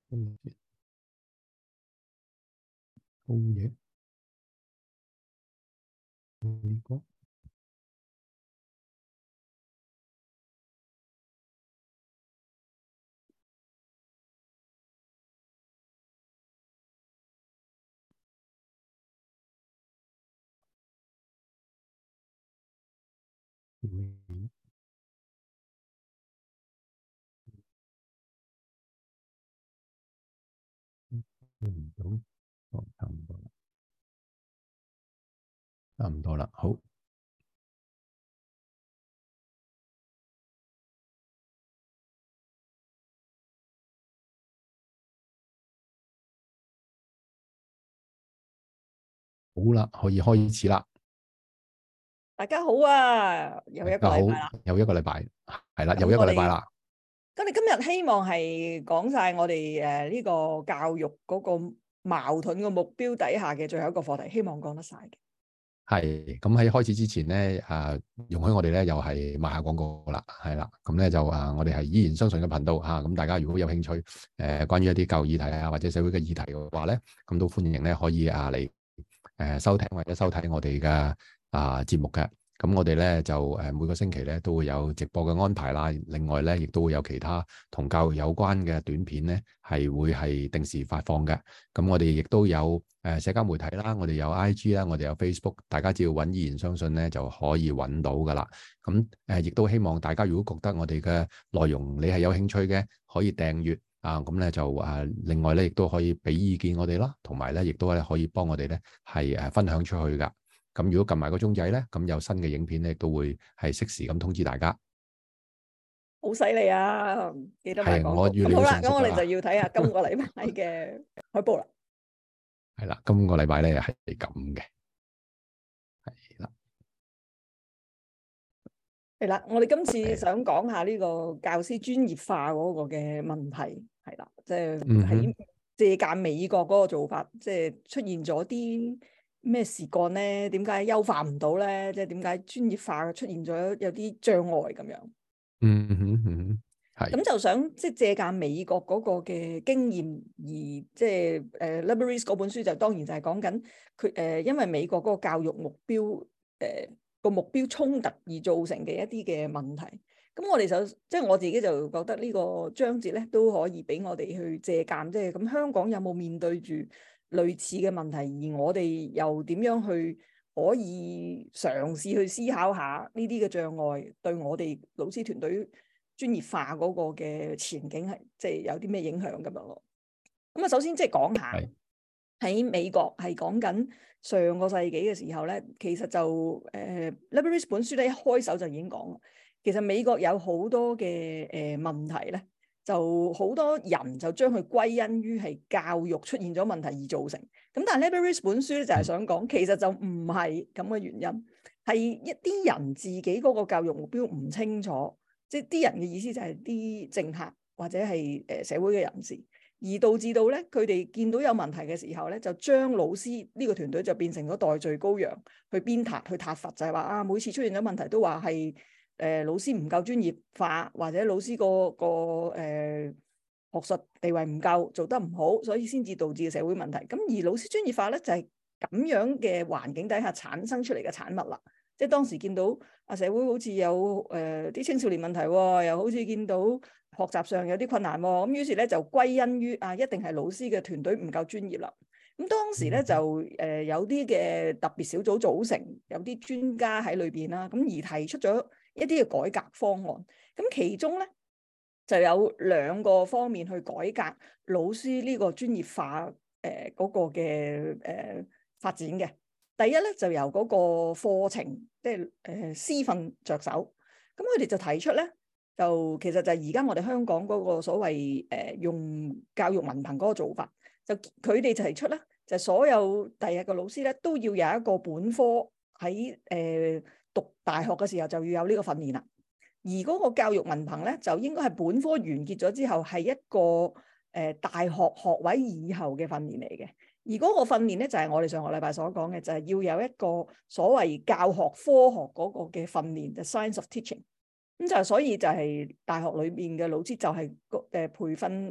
跟住好嘢，呢個唔到，哦，差唔多啦，差唔多啦，好。好啦，可以開始啦。 大家好啊，又一個大家好， 禮拜啦。 又一個禮拜，係啦，又一咁我哋個禮拜啦。 今日希望係講晒我哋呢個教育嗰個矛盾嘅目標底下嘅最後一個課題，希望講得晒嘅。 係咁喺開始之前咧，容許我哋咧又係賣下廣告啦，係啦。咁咧就我哋係依然相信嘅頻道嚇。咁大家如果有興趣關於一啲教育議題啊或者社會嘅議題嘅話咧，咁都歡迎咧可以嚟收聽或者收睇我哋嘅節目嘅。咁我哋咧就每個星期咧都會有直播嘅安排啦。另外咧亦都會有其他同教育有關嘅短片咧係會係定時發放嘅。咁我哋亦都有社交媒體啦，我哋有 IG 啦，我哋有 Facebook，大家只要揾依然相信咧就可以揾到噶啦。咁亦都希望大家如果覺得我哋嘅內容你係有興趣嘅，可以訂閱啊。咁咧就另外咧亦都可以俾意見我哋啦，同埋咧亦都咧可以幫我哋咧係分享出去噶。咁如果撳埋個鐘仔咧，咁有新嘅影片咧都會係適時咁通知大家。 好犀利啊！記得買係廣告。 我越嚟越咁好啦，咁我哋就成熟噶啦。 要睇下今個禮拜嘅海報啦。 係啦，今個禮拜咧係咁嘅。係啦， 係啦，我哋今次想講下呢個教師專業化嗰個嘅問題，係啦，即係喺借鑑美國嗰個做法，即係出現咗啲咩事幹咧？點解優化唔到咧？即係點解專業化出現咗有啲障礙咁樣？ 嗯哼嗯哼，係咁就想即係借鑑美國嗰個嘅經驗，而即係Liberis 嗰本書就當然就係講緊佢因為美國嗰個教育目標個目標衝突而造成嘅一啲嘅問題。咁我哋就即係我自己就覺得呢個章節咧都可以俾我哋去借鑑，即係咁香港有冇面對住類似嘅問題，而我哋又點樣去可以嘗試去思考下呢啲嘅障礙對我哋老師團隊專業化嗰個嘅前景係即係有啲咩影響咁樣咯。咁啊，首先即係講下喺美國係講緊上個世紀嘅時候咧，其實就Liberis 本書咧一開手就已經講，其實美國有好多嘅問題咧，就好多人就將佢歸因於係教育出現咗問題而造成。咁但係 Liberis 本書咧就係想講，其實就唔係咁嘅原因，係一啲人自己嗰個教育目標唔清楚。即係啲人嘅意思就係啲政客或者係社會嘅人士，而導致到咧佢哋見到有問題嘅時候咧，就將老師呢個團隊就變成咗代罪羔羊，去鞭撻去撻伐，就係話啊每次出現咗問題都話係老師唔夠專業化，或者老師個學術地位唔夠，做得唔好，所以先至導致嘅社會問題。咁而老師專業化咧就係咁樣嘅環境底下產生出嚟嘅產物啦。即係當時見到社會好似有啲青少年問題喎，又好似見到學習上有啲困難喎，咁於是咧就歸因於一定係老師嘅團隊唔夠專業啦。咁當時咧就有啲嘅特別小組組成，有啲專家喺裏邊啦，咁而提出咗一啲嘅改革方案。咁其中咧就有兩個方面去改革老師呢個專業化嗰個嘅發展嘅。第一咧就由嗰個課程，即係師訓着手。咁佢哋就提出咧，就其實就係而家我哋香港嗰個所謂用教育文憑嗰個做法，就佢哋就提出咧，就所有第日嘅老師咧都要有一個本科喺讀大學嘅時候就要有呢個訓練啦。而嗰個教育文憑咧就應該係本科完結咗之後係一個大學學位以後嘅訓練嚟嘅。而嗰個訓練咧就係我哋上個禮拜所講嘅，就係要有一個所謂教學科學嗰個嘅訓練，就 Science of Teaching。咁就所以就係大學裏面嘅老師就係培訓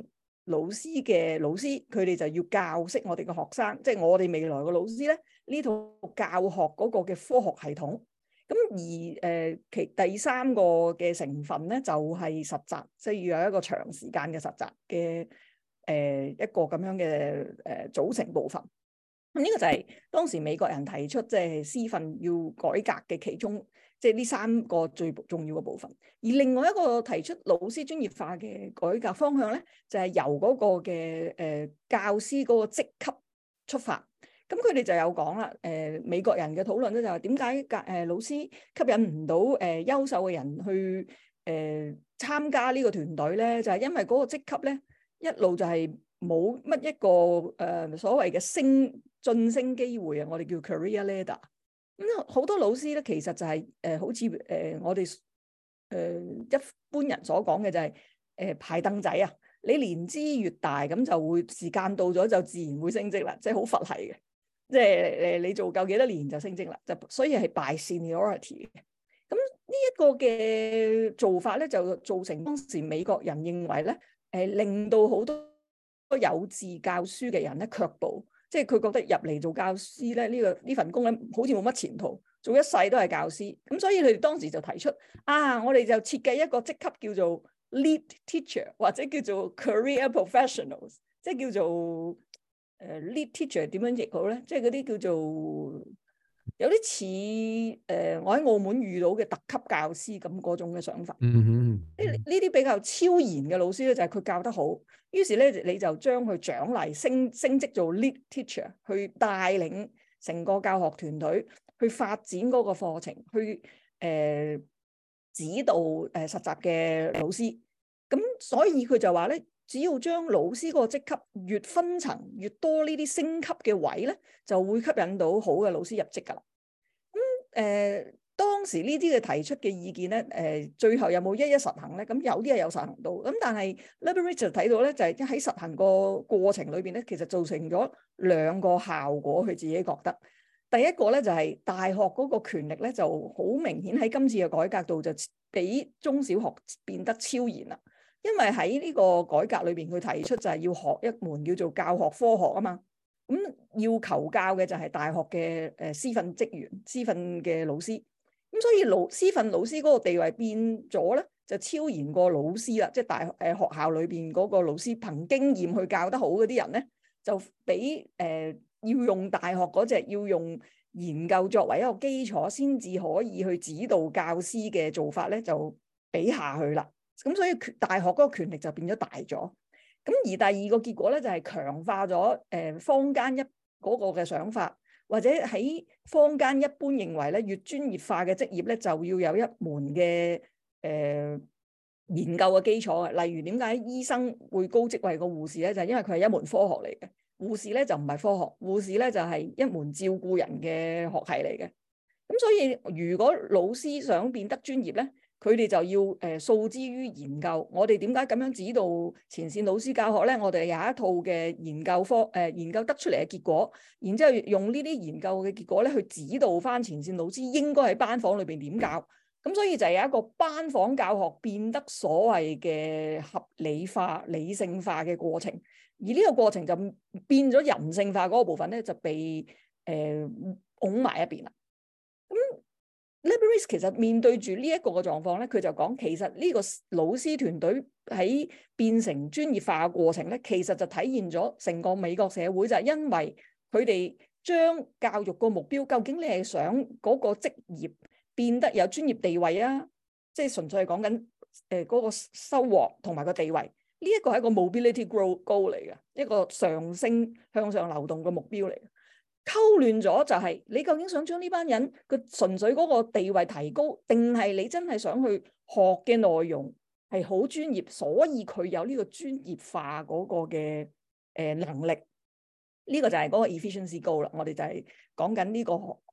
老師嘅老師，佢哋就要教識我哋嘅學生，即係我哋未來嘅老師咧，呢套教學嗰個嘅科學系統。咁而第三個嘅成分咧，就係實習，即係要有一個長時間嘅實習嘅一個咁樣嘅組成部分。咁呢個就係當時美國人提出即係師訓要改革嘅其中，即係呢三個最重要嘅部分。而另外一個提出老師專業化嘅改革方向咧，就係由嗰個嘅教師嗰個職級出發。咁佢哋就有講啦，美國人嘅討論咧就係點解老師吸引唔到優秀嘅人去參加呢個團隊咧？就係因為嗰個職級咧一路就係冇乜一個所謂嘅晉升機會啊，我哋叫 career ladder。咁好多老師咧其實就係好似我哋一般人所講嘅就係排凳仔啊，你年資越大咁就會時間到咗就自然會升職啦，即係好佛系嘅。即係你做夠幾多年就升職啦，就所以係 by seniority 嘅。咁呢一個嘅做法咧，就造成當時美國人認為咧，令到好多有志教書嘅人咧卻步，即係佢覺得入嚟做教師咧呢份工咧好似冇乜前途，做一世都係教師。咁所以佢哋當時就提出我哋就設計一個職級叫做 lead teacher 或者叫做 career professionals， 即係叫做lead teacher 點樣譯好咧？即係嗰啲叫做有啲似我喺澳門遇到嘅特級教師咁嗰種嘅想法。呢啲比較超然嘅老師咧，就係佢教得好，於是咧你就將佢獎勵升職做 lead teacher， 去帶領成個教學團隊去發展嗰個課程，去指導實習嘅老師。咁所以佢就話咧，只要將老師嗰個職級越分層越多呢啲升級嘅位咧，就會吸引到好嘅老師入職㗎啦。咁當時呢啲嘅提出嘅意見咧，最後有冇一實行咧？咁有啲係有實行到，咁但係 Leberidge 就睇到咧，就係喺實行個過程裏邊咧，其實造成咗兩個效果。佢自己覺得，第一個咧就係大學嗰個權力咧，就好明顯喺今次嘅改革度就比中小學變得超然啦。因為喺呢個改革裏邊，佢提出就係要學一門叫做教學科學啊嘛。咁要求教嘅就係大學嘅師訓職員、師訓嘅老師。咁所以師訓老師嗰個地位變咗咧，就超然過老師啦。即係學校裏邊嗰個老師憑經驗去教得好嗰啲人咧，就比要用大學嗰隻要用研究作為一個基礎先至可以去指導教師嘅做法咧，就比下去啦。咁所以大學嗰個權力就變咗大咗。咁而第二個結果咧，就係強化咗坊間嗰個嘅想法，或者喺坊間一般認為咧，越專業化嘅職業咧，就要有一門嘅研究嘅基礎嘅。例如點解醫生會高職位過護士咧？就係因為佢係一門科學嚟嘅。護士咧就唔係科學，護士咧就係一門照顧人嘅學系嚟嘅。咁所以如果老師想變得專業咧，佢哋就要訴之於研究。我哋點解咁樣指導前線老師教學咧？我哋有一套嘅研究得出嚟嘅結果，然之後用呢啲研究嘅結果咧去指導翻前線老師應該喺班房裏邊點教。咁所以就有一個班房教學變得所謂嘅合理化、理性化嘅過程。而呢個過程就變咗人性化嗰個部分咧，就被拱埋一邊啦。咁Leberidge 其實面對住呢一個嘅狀況咧，佢就講其實呢個老師團隊喺變成專業化嘅過程咧，其實就體現咗成個美國社會就係因為佢哋將教育個目標，究竟你係想嗰個職業變得有專業地位啊，即係純粹係講緊嗰個收穫同埋個地位。呢一個係一個 mobility goal 嚟嘅，一個上升向上流動嘅目標嚟嘅。溝亂咗就係你究竟想將呢班人佢純粹嗰個地位提高，定係你真係想去學嘅內容係好專業，所以佢有呢個專業化嗰個嘅能力。呢個就係嗰個 efficiency goal 啦。我哋就係講緊呢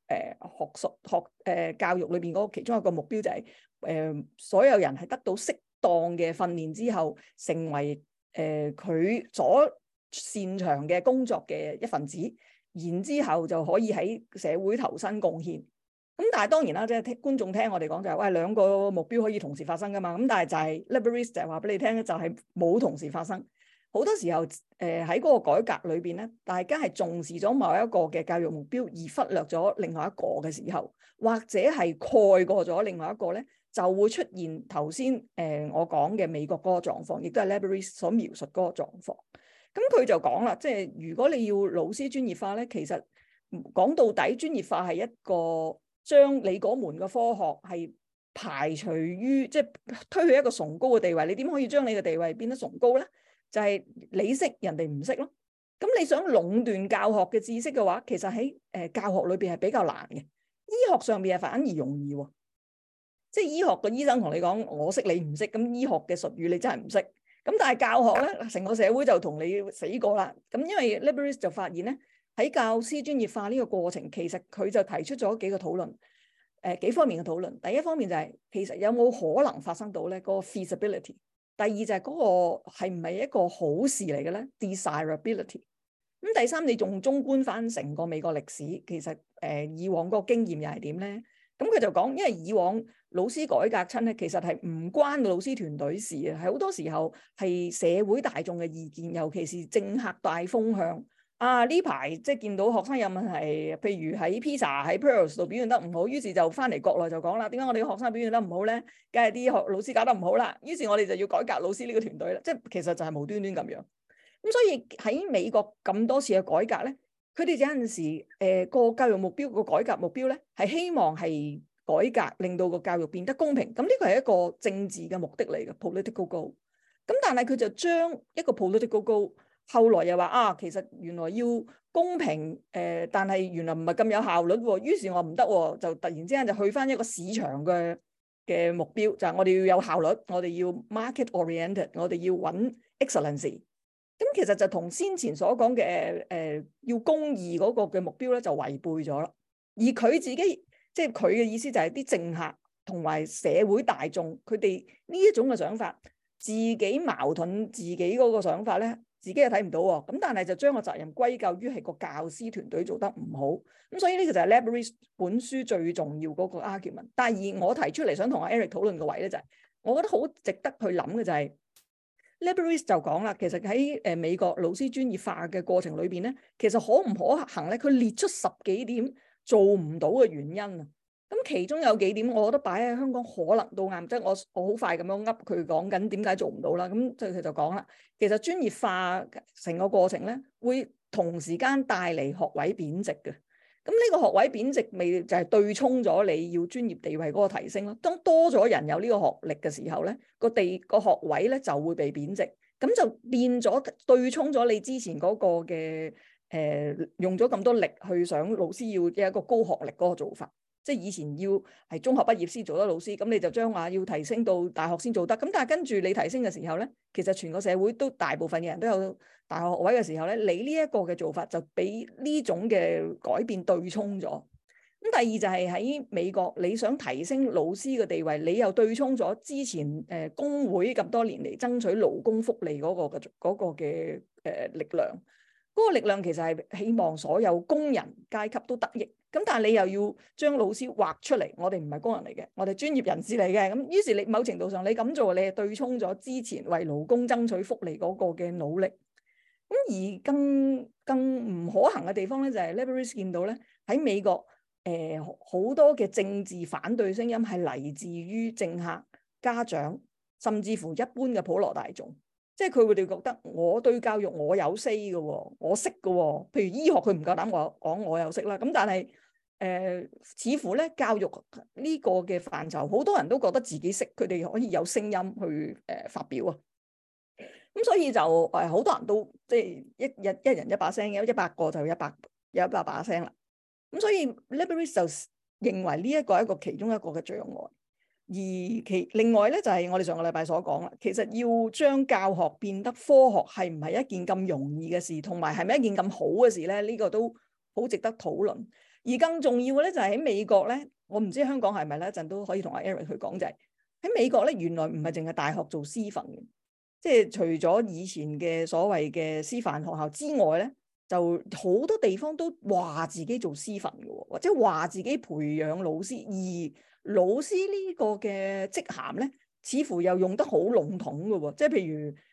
個教育裏邊嗰個其中一個目標就係所有人係得到適當嘅訓練之後，成為佢所擅長嘅工作嘅一份子，然之後就可以喺社會投身貢獻。咁但係當然啦，即係觀眾聽我哋講就係，喂，兩個目標可以同時發生噶嘛。咁但係就係 Leberidge 就係話俾你聽咧，就係冇同時發生。 好多時候喺嗰個改革裏邊咧，大家係重視咗某一個嘅教育目標，而忽略咗另外一個嘅時候，或者係蓋過咗另外一個咧，就會出現頭先我講嘅美國嗰個狀況，亦都係 Labyrinth 所描述嗰個狀況。咁佢就講啦，即係如果你要老師專業化咧，其實講到底專業化係一個將你嗰門嘅科學係排除於即係推去一個崇高嘅地位。你點可以將你嘅地位變得崇高咧？就係你識人哋唔識咯。咁你想壟斷教學嘅知識嘅話，其實喺教學裏邊係比較難嘅。醫學上邊係反而容易喎。即係醫學嘅醫生同你講我識你唔識，咁醫學嘅術語你真係唔識。咁但係教學咧，成個社會就同你死過啦。咁因為 Labyrinth 就發現咧，喺教師專業化呢個過程，其實佢就提出咗幾個討論，幾方面嘅討論。第一方面就係其實有冇可能發生到咧嗰個 feasibility。第二就係嗰個係唔係一個好事嚟嘅咧 desirability。咁第三，你仲綜觀翻成個美國歷史，其實以往嗰個經驗又係點咧？咁佢就講，因為以往老師改革親咧，其實係唔關老師團隊事嘅，係好多時候係社會大眾嘅意見，尤其是政客大風向。啊，呢排即係見到學生有問題，譬如喺 PISA 喺 Pearls 度表現得唔好，於是就翻嚟國內就講啦，點解我哋嘅學生表現得唔好咧？梗係啲老師搞得唔好啦。於是我哋就要改革老師呢個團隊啦。即係其實就係無端端咁樣。咁所以喺美國咁多次嘅改革咧，佢哋有陣時個教育目標個改革目標咧，係希望係改革令到個教育變得公平。咁呢個係一個政治嘅目的嚟嘅 political goal。咁但係佢就將一個 political goal，後來又話啊，其實原來要公平但係原來唔係咁有效率喎。於是我唔得喎，就突然之間就去翻一個市場嘅目標，就係我哋要有效率，我哋要 market oriented， 我哋要揾 excellency。咁其實就同先前所講嘅要公義嗰個嘅目標咧，就違背咗啦。而佢自己即係佢嘅意思就係啲政客同埋社會大眾，佢哋呢一種嘅想法，自己矛盾自己嗰個想法咧，自己又睇唔到喎。咁但係就將個責任歸咎於係個教師團隊做得唔好。咁所以呢個就係 Labyrinth 本書最重要嗰個 argument。但係而我提出嚟想同阿 Eric 討論嘅位咧，就係我覺得好值得去諗嘅就係。Labyrinth 就講啦，其實喺美國老師專業化嘅過程裏邊咧，其實可唔可行咧？佢列出10幾點做唔到嘅原因啊。咁其中有幾點，我覺得擺喺香港可能都啱。即係我好快咁樣噏佢講緊點解做唔到啦。咁佢就講啦，其實專業化成個過程咧，會同時間帶嚟學位貶值嘅。咁呢個學位貶值咪就係對沖咗你要專業地位嗰個提升咯。當多咗人有呢個學歷嘅時候咧，個學位咧就會被貶值，咁就變咗對沖咗你之前嗰個嘅用咗咁多力去想老師要一個高學歷嗰個做法。即係以前要係中學畢業先做得老師，咁你就將話要提升到大學先做得。咁但係跟住你提升嘅時候咧，其實全個社會都大部分嘅人都有大學學位嘅時候咧，你呢一個嘅做法就俾呢種嘅改變對沖咗。咁第二就係喺美國，你想提升老師嘅地位，你又對沖咗之前工會咁多年嚟爭取勞工福利嗰個嘅力量。嗰個力量其實係希望所有工人階級都得益。咁但係你又要將老師劃出嚟，我哋唔係工人嚟嘅，我哋專業人士嚟嘅。咁於是你某程度上你咁做，你係對沖咗之前為勞工爭取福利嗰個嘅努力。咁而更唔可行嘅地方咧，就係 Labyrinth 見到咧，喺美國好多嘅政治反對聲音係嚟自於政客、家長，甚至乎一般嘅普羅大眾。即係佢哋覺得我對教育我有 say 嘅喎，我識嘅喎。譬如醫學佢唔夠膽講我有識啦。咁但係似乎咧教育呢個嘅範疇，好多人都覺得自己識，佢哋可以有聲音去發表啊。咁所以就好多人都即係一人一把聲，有100個就有100把聲啦。咁所以 Labyrinth 就認為呢一個係一個其中一個嘅障礙。而另外咧就係我哋上個禮拜所講啦，其實要將教學變得科學係唔係一件咁容易嘅事，同埋係咪一件咁好嘅事咧？呢個都好值得討論。而更重要嘅咧就係喺美國咧，我唔知香港係咪咧，一陣都可以同阿 Eric 去講，就係喺美國咧，原來唔係淨係大學做師範嘅，即係除咗以前嘅所謂嘅師範學校之外咧，就好多地方都話自己做師範嘅，或者話自己培養老師，而老師呢個嘅職銜咧，似乎又用得好籠統嘅喎。即係譬如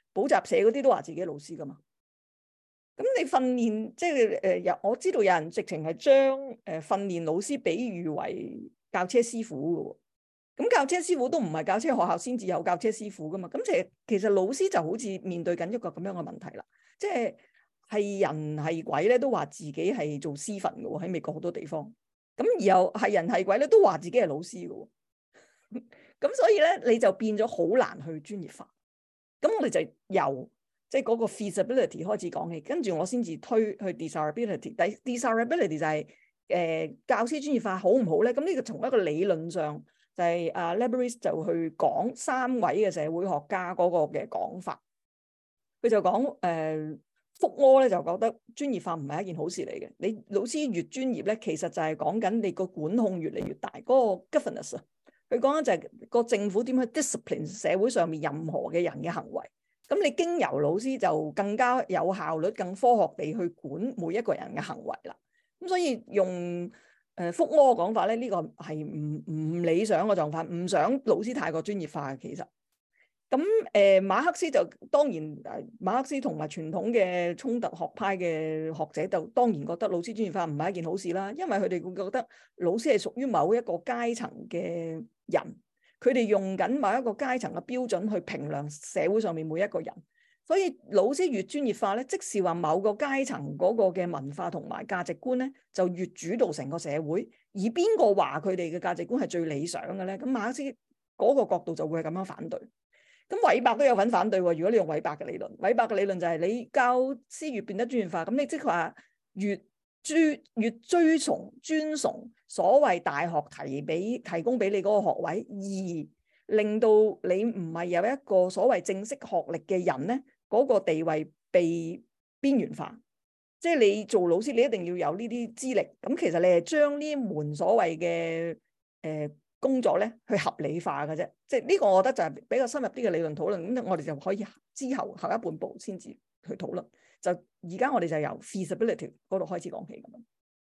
補習社嗰啲都話自己係老師噶嘛。咁你訓練即係我知道有人直情係將訓練老師比喻為教車師傅嘅喎。咁教車師傅都唔係教車學校先至有教車師傅噶嘛。咁其實老師就好似面對緊一個咁樣嘅問題啦。即係人係鬼咧，都話自己係做師訓嘅喎，喺美國好多地方。咁而後係人係鬼咧，都話自己係老師嘅喎。咁所以咧，你就變咗好難去專業化。咁我哋就由即係嗰個 feasibility 開始講起，跟住我先至推去 desirability。desirability 就係教師專業化好唔好咧？咁呢個從一個理論上就係Lebris 就去講3位嘅社會學家嗰個嘅講法。佢就講福柯咧就覺得專業化唔係一件好事嚟嘅。你老師越專業咧，其實就係講緊你個管控越嚟越大，嗰個 governance 啊。佢講緊就係個政府點去 discipline 社會上面任何嘅人嘅行為。咁你經由老師就更加有效率、更科學地去管每一個人嘅行為啦。咁所以用福柯嘅講法咧，呢個係唔理想嘅狀況，唔想老師太過專業化嘅其實。咁馬克思就當然馬克思同埋傳統嘅衝突學派嘅學者就當然覺得老師專業化唔係一件好事啦，因為佢哋會覺得老師係屬於某一個階層嘅人。佢哋用緊某一個階層嘅標準去評量社會上面每一個人，所以老師越專業化咧，即是話某個階層嗰個嘅文化同埋價值觀咧，就越主導成個社會。而邊個話佢哋嘅價值觀係最理想嘅咧？咁馬克思嗰個角度就會係咁樣反對。咁韋伯都有份反對喎。如果你用韋伯嘅理論，韋伯嘅理論就係你教師越變得專業化，咁你即係話越追崇尊崇所謂大學提供俾你嗰個學位，而令到你唔係有一個所謂正式學歷嘅人咧，嗰個地位被邊緣化。即係你做老師，你一定要有呢啲資歷。咁其實你係將呢門所謂嘅工作咧去合理化嘅啫。即係呢個我覺得就係比較深入啲嘅理論討論。咁我哋就可以之後一半步先至去討論。就而家我哋就由 feasibility 嗰度開始講起咁樣。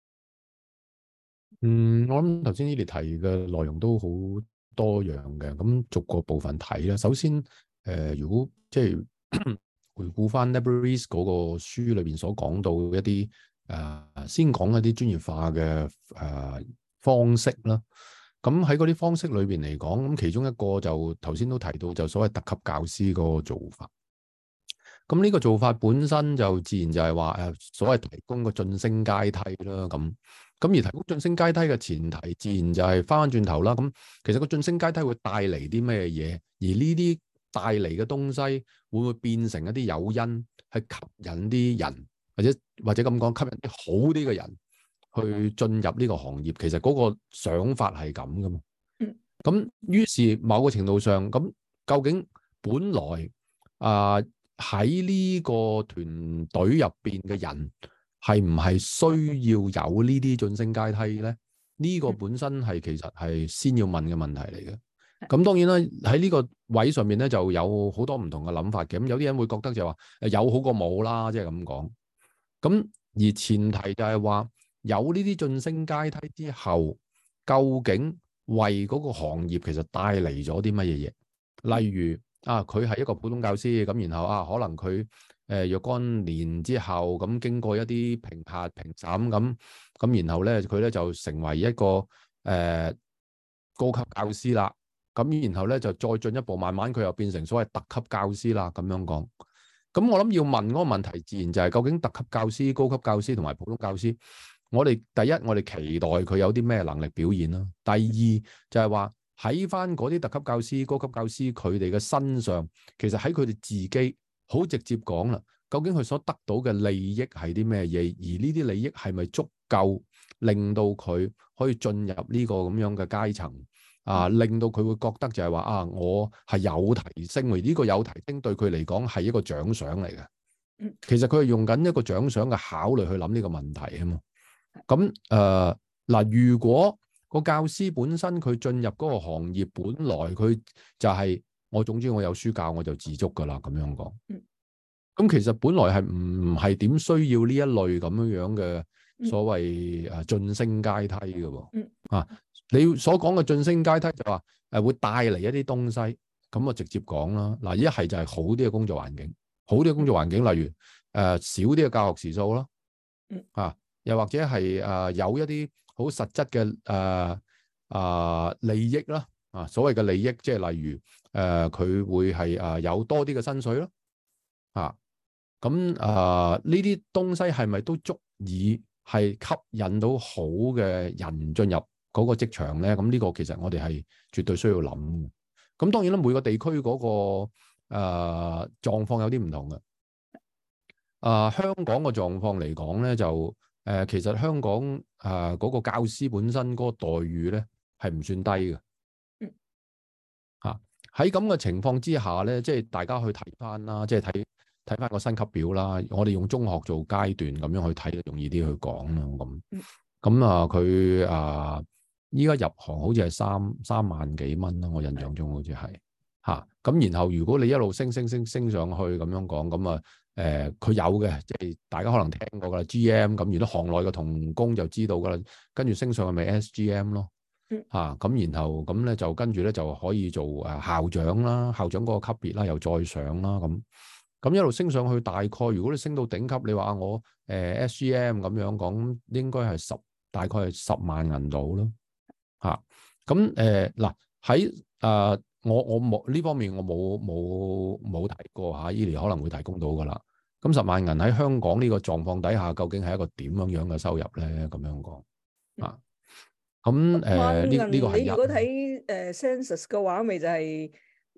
我諗頭先呢啲提嘅內容都好多樣嘅，咁逐個部分睇啦。首先，如果即係回顧翻 Lebris 嗰個書裏邊所講到一啲先講一啲專業化嘅方式啦。咁喺嗰啲方式裏邊嚟講，咁其中一個就頭先都提到，就所謂特級教師嗰個做法。咁呢個做法本身就自然就係話所謂提供個晉升階梯啦。咁而提供晉升階梯嘅前提，自然就係翻返轉頭啦。咁其實個晉升階梯會帶嚟啲咩嘢？而呢啲帶嚟嘅東西會唔會變成一啲誘因，去吸引啲人，或者咁講，吸引啲好啲嘅人去進入呢個行業？其實嗰個想法係咁噶嘛。咁於是某個程度上，咁究竟本來喺呢個團隊入邊嘅人係唔係需要有呢啲晉升階梯咧？呢個本身係其實係先要問嘅問題嚟嘅。咁當然啦，喺呢個位上面咧就有好多唔同嘅諗法嘅。咁有啲人會覺得就話有好過冇啦，即係咁講。咁而前提就係話有呢啲晉升階梯之後，究竟為嗰個行業其實帶嚟咗啲乜嘢嘢？例如佢係一個普通教師，咁然後可能佢若干年之後咁經過一啲評核評審咁然後咧佢咧就成為一個高級教師啦。咁然後咧就再進一步，慢慢佢又變成所謂特級教師啦。咁樣講，咁我諗要問嗰個問題，自然就係究竟特級教師、高級教師同埋普通教師，我哋第一我哋期待佢有啲咩能力表現啦。第二就係話喺翻嗰啲特級教師、高級教師佢哋嘅身上，其實喺佢哋自己好直接講啦，究竟佢所得到嘅利益係啲咩嘢？而呢啲利益係咪足夠令到佢可以進入呢個咁樣嘅階層？令到佢會覺得就係話我係有提升，而呢個有提升對佢嚟講係一個獎賞嚟嘅。其實佢係用緊一個獎賞嘅考慮去諗呢個問題啊嘛。咁如果個教師本身佢進入嗰個行業，本來佢就係我總之我有書教我就自足噶啦，咁樣講。咁其實本來係唔係點需要呢一類咁樣嘅所謂晉升階梯嘅喎。你所講嘅晉升階梯就話會帶嚟一啲東西， 咁啊直接講啦。嗱，一係就係好啲嘅工作環境，好啲嘅工作環境，例如少啲嘅教學時數啦，又或者係有一啲好實質嘅利益啦，所謂嘅利益，即係例如佢會係有多啲嘅薪水咯，咁呢啲東西係咪都足以係吸引到好嘅人進入嗰個職場咧？咁呢個其實我哋係絕對需要諗嘅。咁當然啦，每個地區嗰個狀況有啲唔同嘅。香港嘅狀況嚟講咧，就其實香港嗰個教師本身嗰個待遇咧係唔算低嘅。喺咁嘅情況之下咧，即係大家去睇翻啦，即係睇翻個薪級表啦。我哋用中學做階段咁樣去睇，容易啲去講啦。咁佢依家入行好似係三萬幾蚊啦，我印象中好似係咁然後如果你一路升上去咁樣講，咁佢有嘅，即係大家可能聽過噶啦 GM 咁，如果行內嘅同工就知道噶啦，跟住升上去咪 SGM 咯。咁然後咁咧就跟住咧就可以做校長啦，校長嗰個級別啦，又再上啦，咁一路升上去，大概如果你升到頂級，你話我SGM 咁樣講，應該係大概係10萬銀到咯。咁嗱喺我冇呢方面我冇提過伊研可能會提供到噶啦。咁10萬銀喺香港呢個狀況底下，究竟係一個點樣嘅收入咧？咁樣講咁呢個係你如果睇census 嘅話，咪就係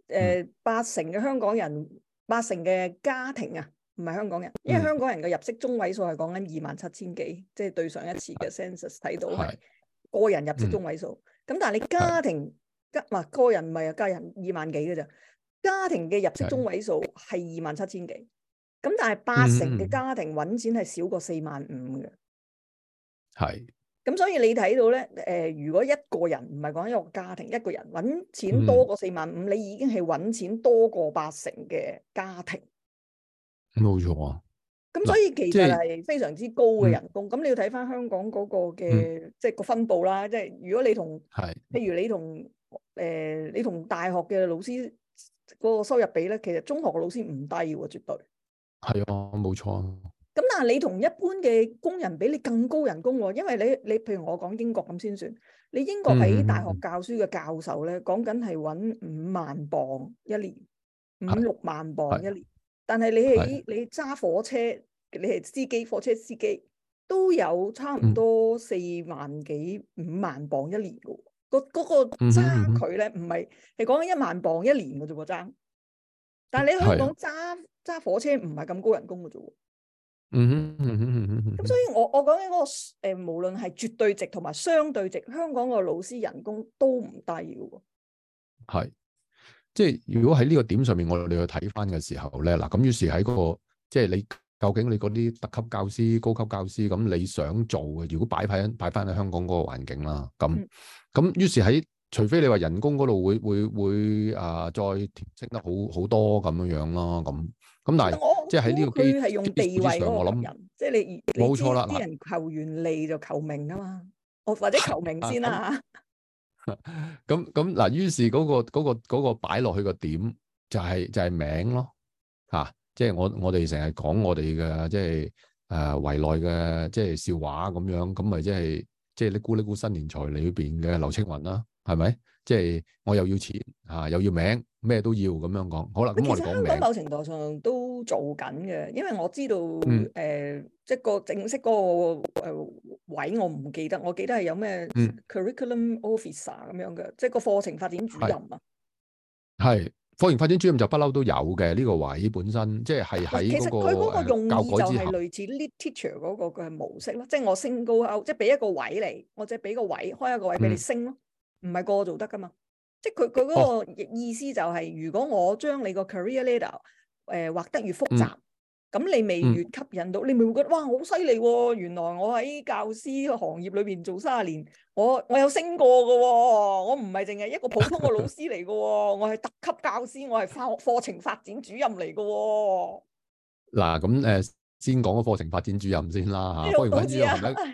80%嘅香港人，80%嘅家庭啊，唔係香港人，因為香港人嘅入息中位數係講緊27,000幾，即係對上一次嘅 census 睇到係個人入息中位數。咁但係你家庭個人唔係家人2萬幾嘅咋，家庭嘅入息中位數係27,000幾。咁但係80%嘅家庭揾錢係少過45,000嘅。 係。 咁所以你睇到咧，如果一個人唔係講一個家庭，一個人揾錢多過45,000，你已經係揾錢多過80%嘅家庭。 冇錯啊！ 咁所以其實係非常之高嘅人工。咁你要睇翻香港嗰個嘅即係個分佈啦。即係如果你同譬如你同大學嘅老師嗰個收入比咧，其實中學嘅老師唔低喎，絕對。 係啊，冇錯。 咁但係你同一般嘅工人比，你更高人工喎，因為你譬如我講英國咁先算，你英國喺大學教書嘅教授咧，講緊係揾5萬磅一年，5-6萬磅一年。但係你揸火車，你係司機，火車司機都有差唔多4萬幾5萬磅一年嘅喎。嗰個爭距咧，唔係講緊1萬磅一年嘅啫喎爭。但係你香港揸火車唔係咁高人工嘅啫喎。咁所以我講緊嗰個無論係絕對值同埋相對值，香港個老師人工都唔低嘅喎。 係，即係如果喺呢個點上面，我哋去睇翻嘅時候咧，嗱咁於是喺嗰個即係你究竟你嗰啲特級教師、高級教師，咁你想做嘅，如果擺翻喺香港嗰個環境啦，咁於是喺除非你話人工嗰度會再調升得好多咁樣咯，咁但係即係喺呢個佢係用地位嗰個人，即係你冇錯啦。 啲人求完利就求名啊嘛，或者求名先啦嚇。 咁嗱，於是嗰個擺落去個點就係名咯嚇，即係我哋成日講我哋嘅即係圍內嘅即係笑話咁樣，咁咪即係呢咕新年財裏邊嘅劉青雲啦，係咪？即係我又要錢又要名，咩都要咁樣講。好啦，咁我哋講名。其實香港某程度上都做緊嘅，因為我知道即係個正式嗰個位我唔記得，我記得係有咩 curriculum officer 咁樣嘅，即係個課程發展主任啊。 係課程發展主任就不嬲都有嘅呢個位本身，即係喺嗰個其實佢嗰個用意就係類似 lead teacher 嗰個嘅模式咯，即係我升高 out，即係俾一個位你，或者俾個位開一個位俾你升咯。唔係個個做得噶嘛，即係佢嗰個意思就係，如果我將你個 career ladder 畫得越複雜，咁你未越吸引到，你咪會覺得哇好犀利喎！原來我喺教師行業裏邊做30年，我有升過嘅喎，我唔係淨係一個普通嘅老師嚟嘅喎，我係特級教師，我係課程發展主任嚟嘅喎。 嗱咁先講個課程發展主任先啦嚇，課程發展主任係咪？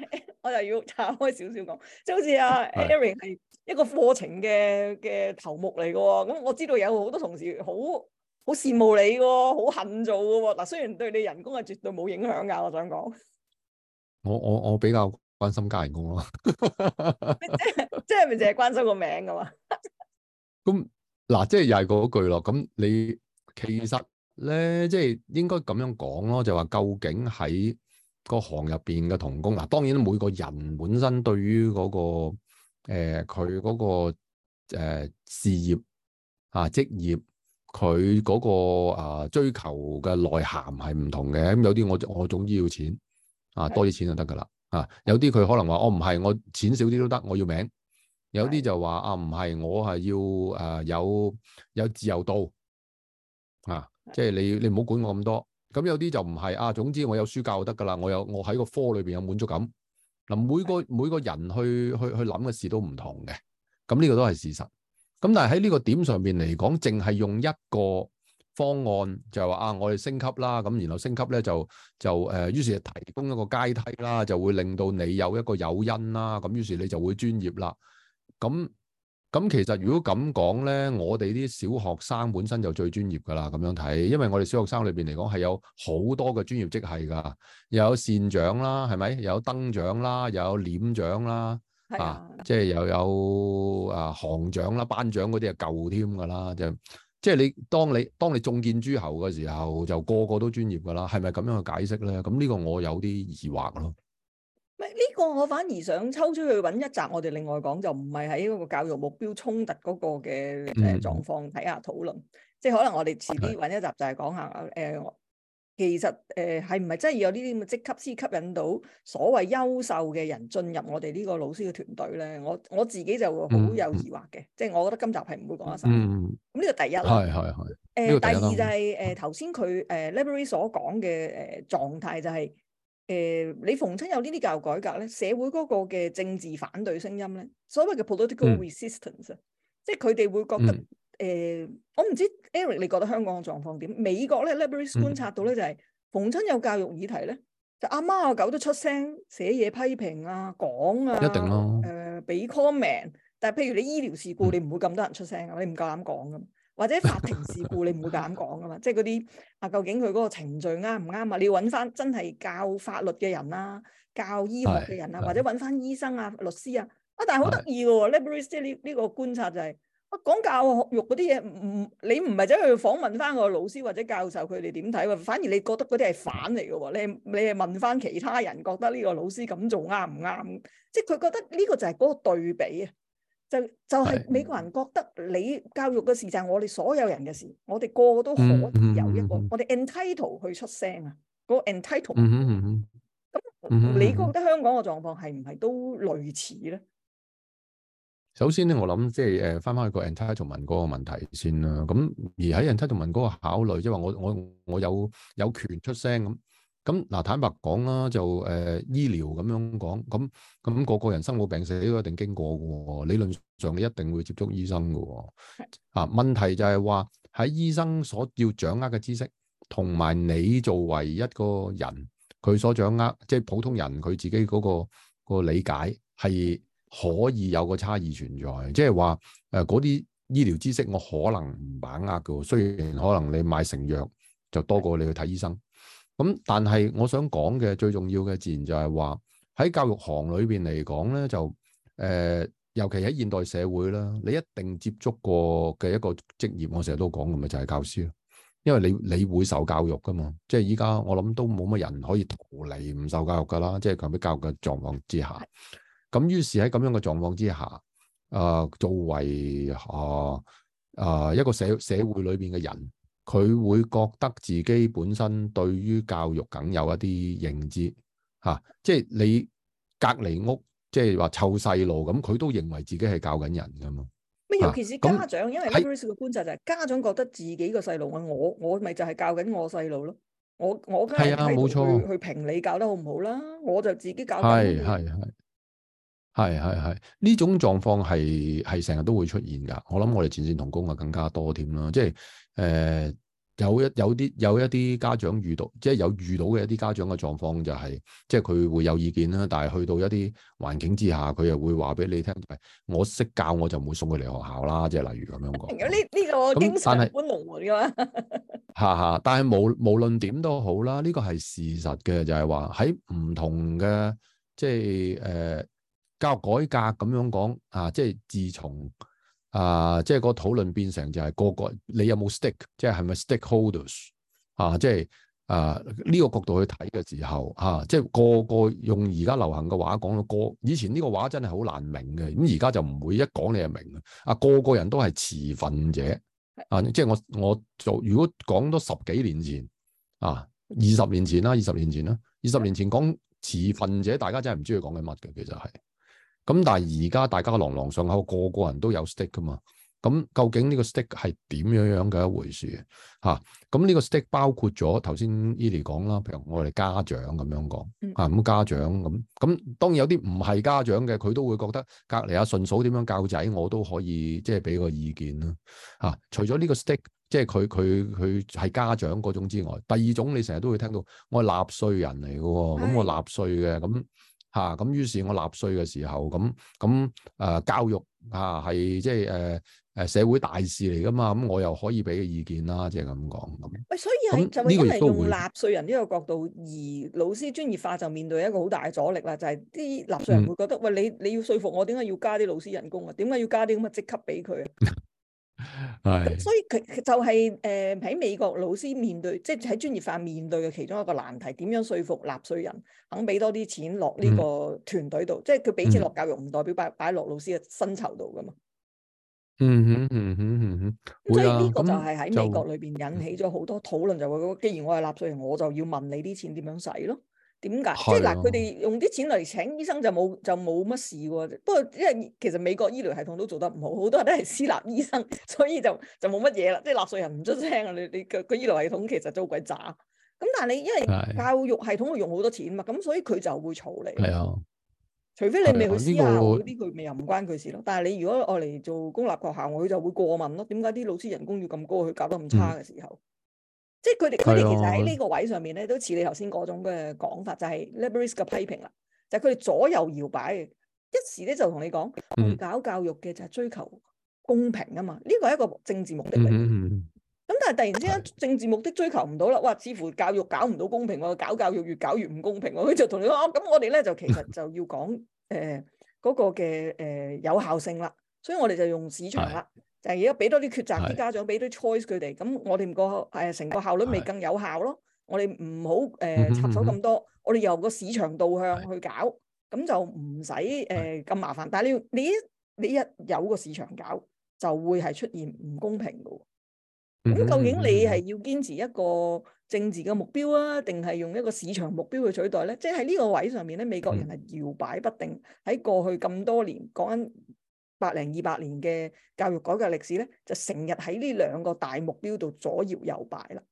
我就要岔開少少講，即係好似阿 Eric 係一個課程嘅頭目嚟嘅喎。咁我知道有好多同事好羨慕你嘅喎，好恨做嘅喎。嗱，雖然對你人工係絕對冇影響㗎，我想講。 我比較關心加人工咯。 即係咪淨係關心個名㗎嘛？ 咁嗱，即係又係嗰句咯。咁你其實咧，即係應該咁樣講咯，就話究竟喺個行入邊嘅同工嗱，當然每個人本身對於嗰個佢嗰個事業啊職業，佢嗰個追求嘅內涵係唔同嘅。咁有啲我總之要錢啊，多啲錢就得噶啦啊。有啲佢可能話我唔係，我錢少啲都得，我要名。有啲就話啊，唔係，我係要有自由度啊，即係你唔好管我咁多。咁有啲就唔係啊，總之我有書教就得噶啦，我喺個科裏邊有滿足感。嗱，每個人去諗嘅事都唔同嘅，咁呢個都係事實。咁但係喺呢個點上邊嚟講，淨係用一個方案就係話啊，我哋升級啦，咁然後升級咧就於是就提供一個階梯啦，就會令到你有一個誘因啦，咁於是你就會專業啦。咁其實如果咁講咧，我哋啲小學生本身就最專業噶啦，咁樣睇，因為我哋小學生裏邊嚟講係有好多嘅專業職系噶，又有善長啦，係咪？又有燈長啦，又有臉長啦，即係又有行長啦、班長嗰啲係舊添噶啦，即係你當你中見諸侯嘅時候，就個個都專業噶啦，係咪咁樣去解釋咧？咁呢個我有啲疑惑咯。 呢個我反而想抽出去揾一集，我哋另外講，就唔係喺嗰個教育目標衝突嗰個嘅狀況睇下討論。即係可能我哋遲啲揾一集就係講下其實係唔係真係要有呢啲咁嘅職級先吸引到所謂優秀嘅人進入我哋呢個老師嘅團隊咧？我自己就會好有疑惑嘅，即係我覺得今集係唔會講得晒。咁呢個第一啦。第二就係頭先佢Library 所講嘅狀態就係。你逢親有呢啲教育改革咧，社會嗰個嘅政治反對聲音咧，所謂嘅 political resistance，即係佢哋會覺得我唔知 Eric 你覺得香港嘅狀況點？美國咧 Library 觀察到咧就係逢親有教育議題咧，就阿貓阿狗都出聲寫嘢批評啊，講啊， 一定咯， 俾 comment。但係譬如你醫療事故，你唔會咁多人出聲啊，你唔夠膽講噶。或者法庭事故你唔會咁講噶嘛，即係嗰啲究竟佢嗰個程序啱唔啱啊？你要揾翻真係教法律嘅人啦，教醫學嘅人啊，或者揾翻醫生啊、律師啊。但係好得意嘅喎 Library 即係呢個觀察就係講教育嗰啲嘢，你唔係走去訪問翻個老師或者教授佢哋點睇喎，反而你覺得嗰啲係反嚟嘅喎。你係問翻其他人覺得呢個老師咁做啱唔啱？即係佢覺得呢個就係嗰個對比啊。就係美國人覺得你教育嘅事就係我哋所有人嘅事，我哋個個都可以有一個，我哋 entitle 去出聲啊，嗰個 entitle。咁你覺得香港嘅狀況係唔係都類似咧？ 首先咧，我諗即係翻去個 entitlement 嗰個問題先啦。咁而喺 entitlement 嗰個考慮，即係話我有權出聲咁。咁嗱，坦白講啦，就醫療咁樣講，咁個個人生老病死都一定經過嘅喎。理論上你一定會接觸醫生嘅喎。問題就係話喺醫生所要掌握嘅知識，同埋你作為一個人佢所掌握，即係普通人佢自己嗰個理解係可以有個差異存在。即係話嗰啲醫療知識我可能唔把握嘅，雖然可能你買成藥就多過你去睇醫生。咁但係我想講嘅最重要嘅自然就係話喺教育行裏邊嚟講咧，就尤其喺現代社會啦，你一定接觸過嘅一個職業，我成日都講嘅咪就係教師咯。因為你會受教育噶嘛，即係依家我諗都冇乜人可以逃離唔受教育噶啦，即係強迫教育嘅狀況之下。咁於是喺咁樣嘅狀況之下，作為一個社會裏邊嘅人。佢會覺得自己本身對於教育梗有一啲認知即係你隔離屋，即係話湊細路咁，佢都認為自己係教緊人噶嘛。 尤其是家長，因為 Library 嘅觀察就係家長覺得自己個細路我咪就係教緊我細路咯。我梗係冇錯去評你教得好唔好啦，我就自己教緊。 係呢種狀況係成日都會出現㗎。我諗我哋前線同工啊更加多添啦，即係有一啲家長遇到，即係有遇到嘅一啲家長嘅狀況就係，即係佢會有意見啦，但係去到一啲環境之下，佢又會話俾你聽，我識教我就唔會送佢嚟學校啦，即係例如咁樣講。 呢個經常搬龍門噶嘛。 但係無論點都好啦，呢個係事實嘅，就係話喺唔同嘅即係教育改革咁樣講啊，即係自從即係個討論變成就係個你有冇 stake， 即係咪 stakeholders 即係呢個角度去睇嘅時候即係個個用而家流行嘅話講到以前呢個話真係好難明嘅，咁而家就唔會一講你就明個個人都係持份者即係我做如果講多10幾年前20年前啦，20年前講持份者，大家真係唔知佢講緊乜嘅，其實係。咁但係而家大家朗朗上口，個個人都有 stake 噶嘛。咁究竟呢個 stake 係點樣嘅一回事咁呢個 stake 包括咗頭先 Eli 講啦，譬如我哋家長咁樣講咁家長咁當然有啲唔係家長嘅，佢都會覺得隔離順嫂點樣教仔，我都可以即係俾個意見啦除咗呢個 stake，即係佢係家長嗰種之外，第二種你成日都會聽到我係納稅人嚟嘅喎，咁我納稅嘅咁於是我納稅嘅時候教育係即係社會大事嚟噶嘛，咁我又可以俾嘅意見啦，即係咁講咁。 所以係就係因為用納稅人呢個角度，而老師專業化就面對一個好大嘅阻力啦，就係啲納稅人會覺得喂，你要說服我，點解要加啲老師人工啊？點解要加啲咁嘅職級俾佢？咁所以佢就係喺美國老師面對，即係喺專業化面對嘅其中一個難題，點樣說服納稅人肯俾多啲錢落呢個團隊度？即係佢俾錢落教育，唔代表擺落老師嘅薪酬度噶嘛。所以呢個就係喺美國裏邊引起咗好多討論，就話既然我係納稅人，我就要問你啲錢點樣使咯？點解？即係嗱，佢哋用啲錢嚟請醫生就冇乜事喎。不過因為其實美國醫療系統都做得唔好，好多人都係私立醫生，所以就冇乜嘢啦。即係納稅人唔出聲啊！你個醫療系統其實都好鬼渣。咁但係你因為教育系統會用好多錢嘛，咁所以佢就會嘈你。係啊。除非你未去私校嗰啲，佢咪又唔關佢事咯。但係你如果愛嚟做公立學校，佢就會過問咯。點解啲老師人工要咁高？佢教得咁差嘅時候，即係佢哋其實喺呢個位上面咧，都似你頭先嗰種嘅講法，就係 liberals 嘅批評啦。就係佢哋左右搖擺嘅，一時咧就同你講，我哋搞教育嘅就係追求公平啊嘛。呢個係一個政治目的嚟。咁但係突然之間政治目的追求唔到啦，哇！似乎教育搞唔到公平喎，搞教育越搞越唔公平喎。佢就同你講，咁我哋咧就其實就要講嗰個嘅有效性啦。所以我哋就用市場啦，就係而家俾多啲抉擇啲家長，俾多啲 choice 佢哋。咁我哋個成個效率咪更有效咯。我哋唔好插手咁多，我哋由個市場導向去搞，咁就唔使咁麻煩。但係你一有個市場搞，就會係出現唔公平嘅。咁究竟你係要堅持一個政治嘅目標啊，定係用一個市場目標去取代咧？即係喺呢個位上面咧，美國人係搖擺不定。喺過去咁多年，講緊100、200年嘅教育改革歷史咧，就成日喺呢兩個大目標度左搖右擺啦。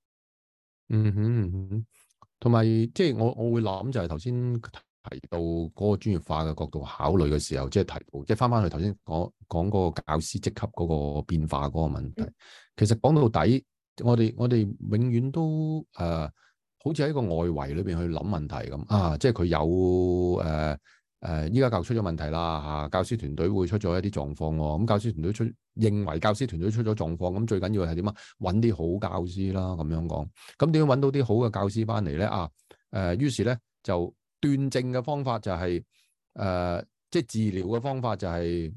同埋即係我會諗就係頭先提到嗰個專業化嘅角度考慮嘅時候，即係提到即係翻去頭先講嗰個教師職級嗰個變化嗰個問題。其實講到底，我哋永遠都好似喺個外圍裏邊去諗問題咁即係佢有依家教育出咗問題啦教師團隊會出咗一啲狀況喎。咁教師團隊認為教師團隊出咗狀況，咁最緊要係點啊？揾啲好教師啦，咁樣講。咁點樣揾到啲好嘅教師翻嚟咧？於是咧就斷症嘅方法就係即係治療嘅方法就係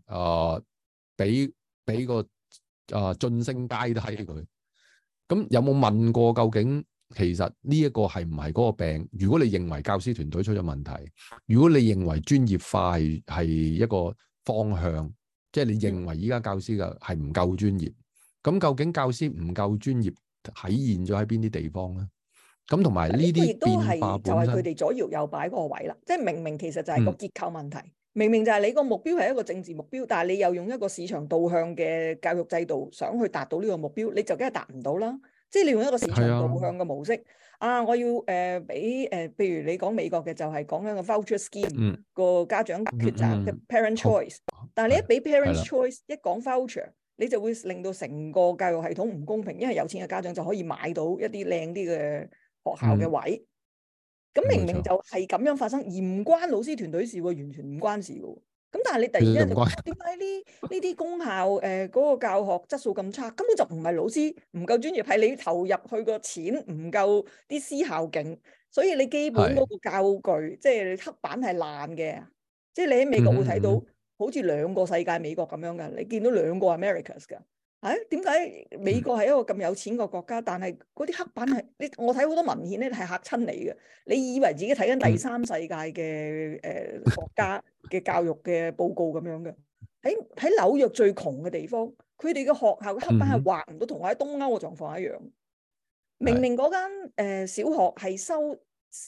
俾個晉升階梯佢。咁有冇問過究竟其實呢一個係唔係嗰個病？如果你認為教師團隊出咗問題，如果你認為專業化係一個方向，即係你認為依家教師嘅係唔夠專業，咁究竟教師唔夠專業體現咗喺邊啲地方咧？咁同埋呢啲變化本身，就係佢哋左搖右擺嗰個位啦。即係明明其實就係個結構問題，明明就係你個目標係一個政治目標，但係你又用一個市場導向嘅教育制度想去達到呢個目標，你就梗係達唔到啦。即係你用一個市場導向嘅模式我要俾譬如你講美國嘅就係講緊個 voucher scheme 個家長抉擇嘅 parent choice，但係你一俾 parent choice 一講 voucher， 你就會令到成個教育系統唔公平，因為有錢嘅家長就可以買到一啲靚啲嘅學校嘅位。咁明明就係咁樣發生，而唔關老師團隊事喎，完全唔關事嘅喎。咁但係你突然間就點解呢啲公校嗰個教學質素咁差？根本就唔係老師唔夠專業，係你投入去個錢唔夠啲私校勁，所以你基本嗰個教具即係你黑板係爛嘅。即係你喺美國會睇到好似兩個世界美國咁樣嘅，你見到兩個 Americas 㗎。點解美國係一個咁有錢嘅國家，但係嗰啲黑板係我睇好多文獻咧係嚇親你嘅。你以為自己睇緊第三世界嘅國家嘅教育嘅報告咁樣嘅。喺紐約最窮嘅地方，佢哋嘅學校嘅黑板係畫唔到，同我喺東歐嘅狀況一樣。明明嗰間小學係收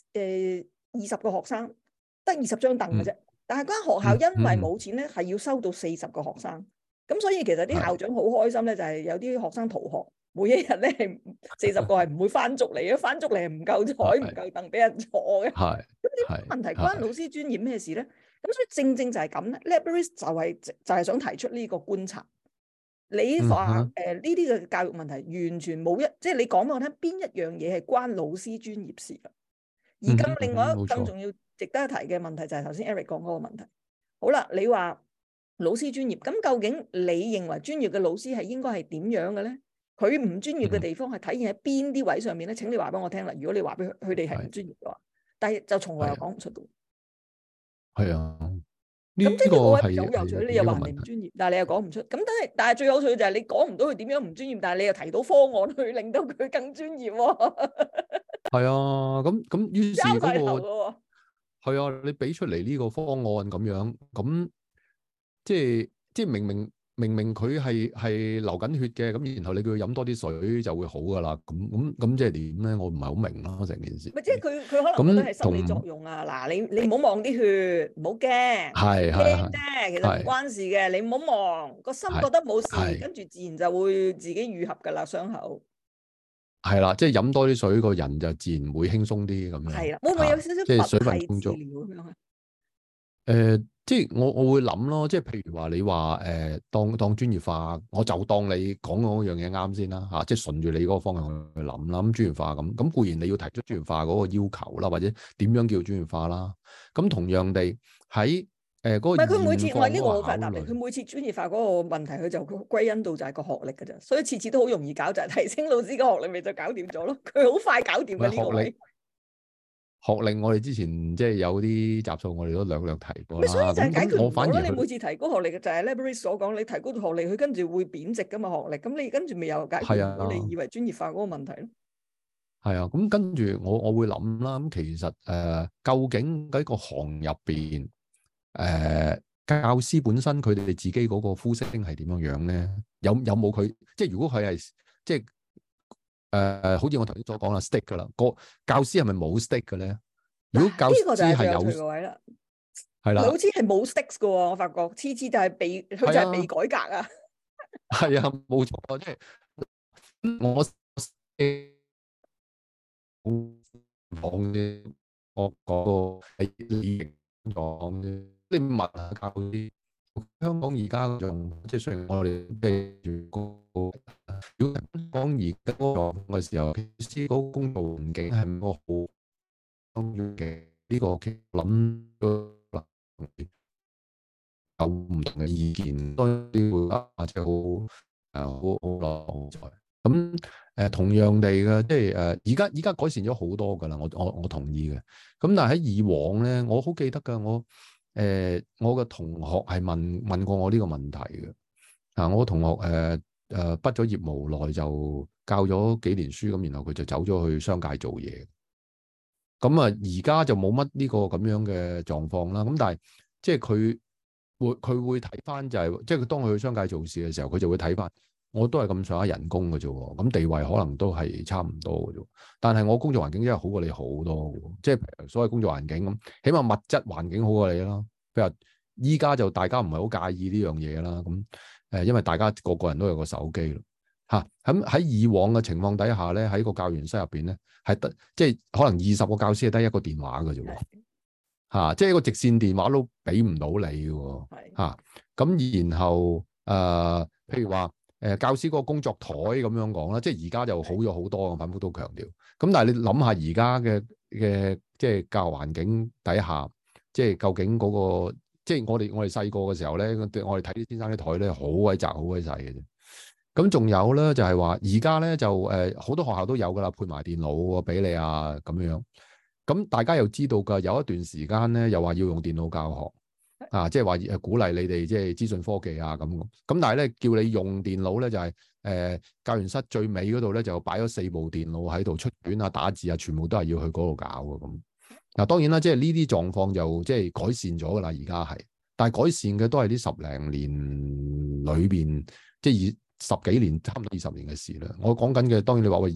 20個學生，得20張凳嘅啫，但係嗰間學校因為冇錢咧，係要收到40個學生。咁所以其實啲校長好開心咧，就係有啲學生逃學，每一日咧係40個係唔會翻足嚟嘅，翻足嚟係唔夠台唔夠凳俾人坐嘅。係咁呢個問題關老師專業咩事咧？咁所以正正就係咁咧 ，Lebris 就係想提出呢個觀察。你話呢啲嘅教育問題完全冇即係你講俾我聽邊一樣嘢係關老師專業事㗎？而咁另外一個更重要值得一提嘅問題就係頭先 Eric 講嗰個問題。好啦，你話老師專業，咁究竟你認為專業嘅老師係應該係點樣嘅咧？佢唔專業嘅地方係體現喺邊啲位上面咧？請你話俾我聽啦。如果你話俾佢哋係唔專業嘅話，但係就從來又講唔出嘅。 係啊， 咁即係呢個位好有趣。你又話人哋唔專業，但係你又講唔出。咁但係最有趣就係你講唔到佢點樣唔專業，但係你又提到方案去令到佢更專業喎。 係啊，咁於是嗰個係啊，你俾出嚟呢個方案咁樣，咁即係明明佢係流緊血嘅，咁然後你叫佢飲多啲水就會好噶啦，咁即係點咧？我唔係好明咯，成件事。 咪即係佢可能覺得係心理作用啊！嗱，你唔好望啲血，唔好驚，驚啫，其實唔關事嘅，你唔好望，個心覺得冇事，跟住自然就會自己愈合噶啦，傷口。係啦，即係飲多啲水，個人就自然會輕鬆啲咁樣。 係啦，會唔會有少少即係水分充足咁樣啊？ 即係我會諗咯，即係譬如話你話當專業化，我就當你講嗰樣嘢啱先啦嚇，即係順住你嗰個方向去諗啦。咁專業化咁固然你要提出專業化嗰個要求啦，或者點樣叫專業化啦。咁同樣地喺嗰個，唔係佢每次我呢個好快答你，佢每次專業化嗰個問題，佢就歸因到就係個學歷㗎咋，所以次次都好容易搞，就係提升老師個學歷，咪就搞掂咗咯。佢好快搞掂嘅呢個位。 學歷我哋之前即係有啲集數，我哋都略提過啦。 所以就係解決唔到咯。你每次提高學歷嘅就係 Lebris 所講，你提高咗學歷，佢跟住會貶值噶嘛學歷。咁你跟住咪又解決唔到你以為專業化嗰個問題咯？ 係啊，咁跟住我會諗啦。咁其實究竟喺個行入邊，教師本身佢哋自己嗰個呼聲係點樣樣咧？有冇佢即係如果佢係即係？好似我頭先所講啦 ，stick 噶啦，個教師係咪冇 stick 嘅咧？如果教師係有，係啦，老師係冇 sticks 嘅喎，我發覺次次就係被佢就係被改革啊。 係啊，冇錯，即係我講啫，我講個係理講啫。你問下教師，香港而家仲即係雖然我哋記住如果香港而家嗰個狀況嘅時候，其實嗰個工作環境係個好重要嘅。呢個諗有唔同嘅意見，當然會即係好落在。咁同樣地嘅，即係而家改善咗好多㗎啦。我同意嘅。咁但係喺以往咧，我好記得㗎。我嘅同學係問過我呢個問題嘅。我同學畢咗業無耐就教咗幾年書，咁然後佢就走咗去商界做嘢。咁而家就冇乜呢個咁樣嘅狀況啦。咁但係即係佢會睇翻就係，即係佢當佢去商界做事嘅時候，佢就會睇翻，我都係咁上下人工嘅啫，咁地位可能都係差唔多嘅啫。但係我工作環境真係好過你好多嘅，即係所謂工作環境咁，起碼物質環境好過你啦。譬如依家就大家唔係好介意呢樣嘢啦。咁因為大家個人都有個手機咯，咁喺以往嘅情況底下咧，喺個教員室入邊咧，係得即係可能20個教師係得一個電話嘅啫，即係一個直線電話都俾唔到你嘅，咁然後譬如話教師嗰個工作台咁樣講啦，即係而家就好咗好多，我反覆都強調。咁但係你諗下而家嘅即係教學環境底下，即係究竟嗰個即係我哋細個嘅時候咧，我哋睇啲先生啲台咧好鬼窄好鬼細嘅啫。咁仲有咧就係話而家咧就好多學校都有噶啦，配埋電腦俾你啊咁樣。咁大家又知道㗎，有一段時間咧又話要用電腦教學。即係話鼓勵你哋即係資訊科技啊咁，但係咧叫你用電腦咧就係、教員室最尾嗰度咧就擺咗4部電腦喺度出卷啊打字啊，全部都係要去嗰度搞嘅咁。嗱當然啦，即係呢啲狀況就即係改善咗噶啦，而家係，但係改善嘅都係呢10零年裏邊，即係10幾年，差唔多20年嘅事啦。我講緊嘅當然你話喂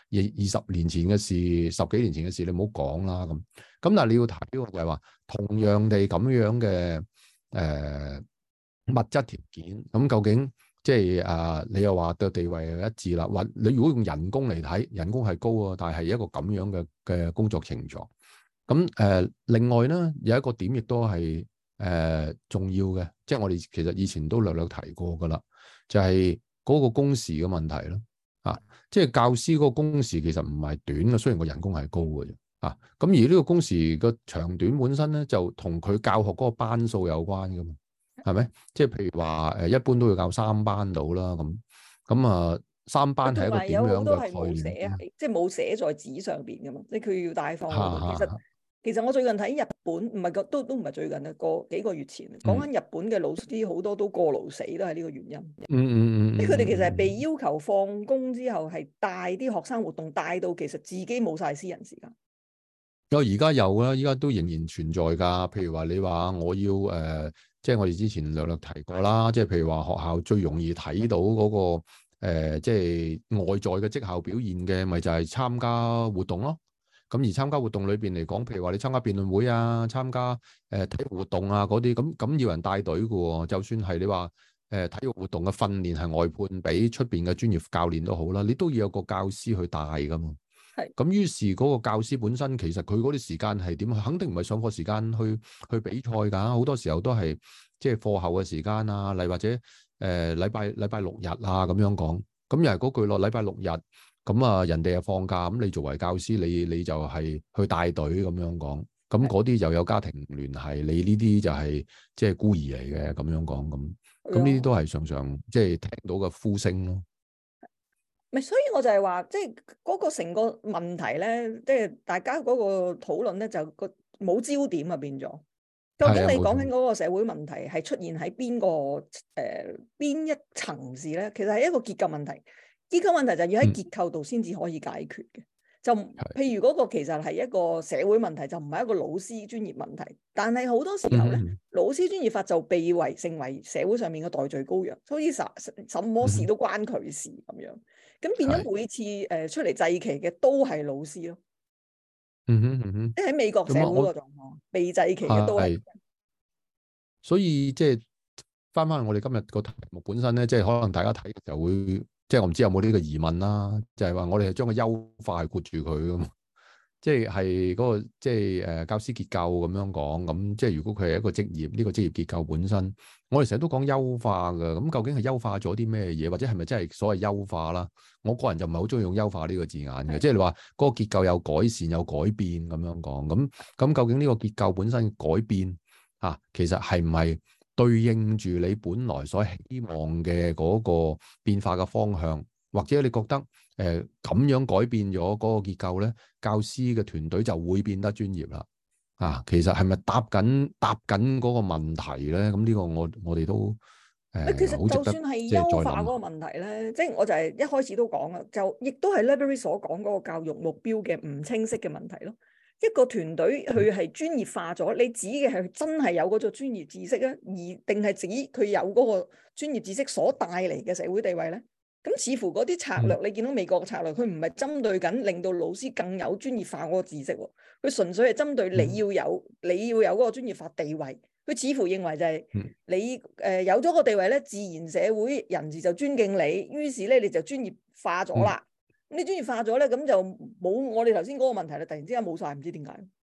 20年前嘅事，10幾年前嘅事，你唔好講啦咁。咁但係你要睇嘅就係話，同樣地咁樣嘅物質條件，咁究竟即係你又話對地位一致啦，或你如果用人工嚟睇，人工係高啊，但係一個咁樣嘅工作情狀。咁另外咧有一個點亦都係重要嘅，即係我哋其實以前都略略提過噶啦，就係嗰個工時嘅問題咯。即係教師嗰個工時其實唔係短嘅，雖然個人工係高嘅啫。咁而呢個工時個長短本身咧，就同佢教學嗰個班數有關噶嘛，係咪？即係譬如話一般都要教3班到啦，咁3班係一個點樣嘅概念？ 即係冇寫在紙上邊噶嘛，即係佢要帶放嗰度。其實我最近睇日本，唔係都唔係最近啊，幾個月前講緊日本嘅老師好多都過勞死，都係呢個原因。即係佢哋其實係被要求放工之後係帶啲學生活動，帶到其實自己冇晒私人時間。 而家有啦，依家都仍然存在㗎。譬如話你話我要即係我哋之前略略提過啦，即係譬如話學校最容易睇到嗰個即係外在嘅績效表現嘅，咪就係參加活動咯。咁而參加活動裏邊嚟講，譬如話你參加辯論會啊，參加體育活動啊嗰啲，咁要人帶隊嘅喎。就算係你話體育活動嘅訓練係外判俾出邊嘅專業教練都好啦，你都要有個教師去帶㗎嘛。咁於是嗰個教師本身其實佢嗰啲時間係點？肯定唔係上課時間去比賽㗎，好多時候都係即係課後嘅時間啊，例或者禮拜六日啊咁樣講。咁又係嗰句咯，禮拜六日咁人哋又放假，咁你作為教師你就係去帶隊咁樣講。咁嗰啲又有家庭聯繫，你呢啲就係即係孤兒嚟嘅咁樣講咁。咁呢啲都係常常即係聽到嘅呼聲咯。 所以我就係話，即係嗰個成個問題咧，即係大家嗰個討論咧，就個冇焦點啊，變咗。究竟你講緊嗰個社會問題係出現喺邊一層次咧？其實係一個結構問題。結構問題就要喺結構度先至可以解決嘅。就譬如嗰個其實係一個社會問題，就唔係一個老師專業問題。但係好多時候咧，老師專業法就被成為社會上面嘅代罪羔羊，所以什麼事都關佢事咁樣。咁變咗每次出嚟祭旗嘅都係老師咯。即係喺美國社會個狀況，被祭旗嘅都係。 所以即係翻我哋今日個題目本身咧，即係可能大家睇嘅時候會，即係我唔知有冇呢個疑問啦，就係話我哋係將個優化係括住佢噶嘛，即係嗰個即係教師結構咁樣講，咁即係如果佢係一個職業，呢個職業結構本身，我哋成日都講優化噶，咁究竟係優化咗啲咩嘢，或者係咪真係所謂優化啦？我個人就唔係好中意用優化呢個字眼嘅，即係你話嗰個結構有改善有改變咁樣講，咁究竟呢個結構本身改變其實係唔係對應住你本來所希望嘅嗰個變化嘅方向，或者你覺得咁樣改變咗嗰個結構咧，教師嘅團隊就會變得專業啦？其實係咪答緊嗰個問題咧？咁呢個我哋都其實就算係優化嗰個問題咧，即係我就係一開始都講啦，就亦都係 Libery 所講嗰個教育目標嘅唔清晰嘅問題咯。一個團隊佢係專業化咗，你指嘅係真係有嗰種專業知識啊，而定係指佢有嗰個專業知識所帶嚟嘅社會地位咧？咁似乎嗰啲策略，你見到美國嘅策略，佢唔係針對緊令到老師更有專業化嗰個知識，佢純粹係針對你要有嗰個專業化地位。佢似乎認為就係你有咗個地位咧，自然社會人士就尊敬你，於是咧你就專業化咗啦。你專業化咗咧，咁就冇我哋頭先嗰個問題啦。突然之間冇晒，唔知點解。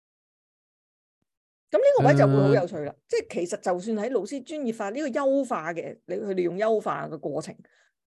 咁呢個位就會好有趣啦。即係其實就算喺老師專業化呢個優化嘅，佢哋用優化嘅過程，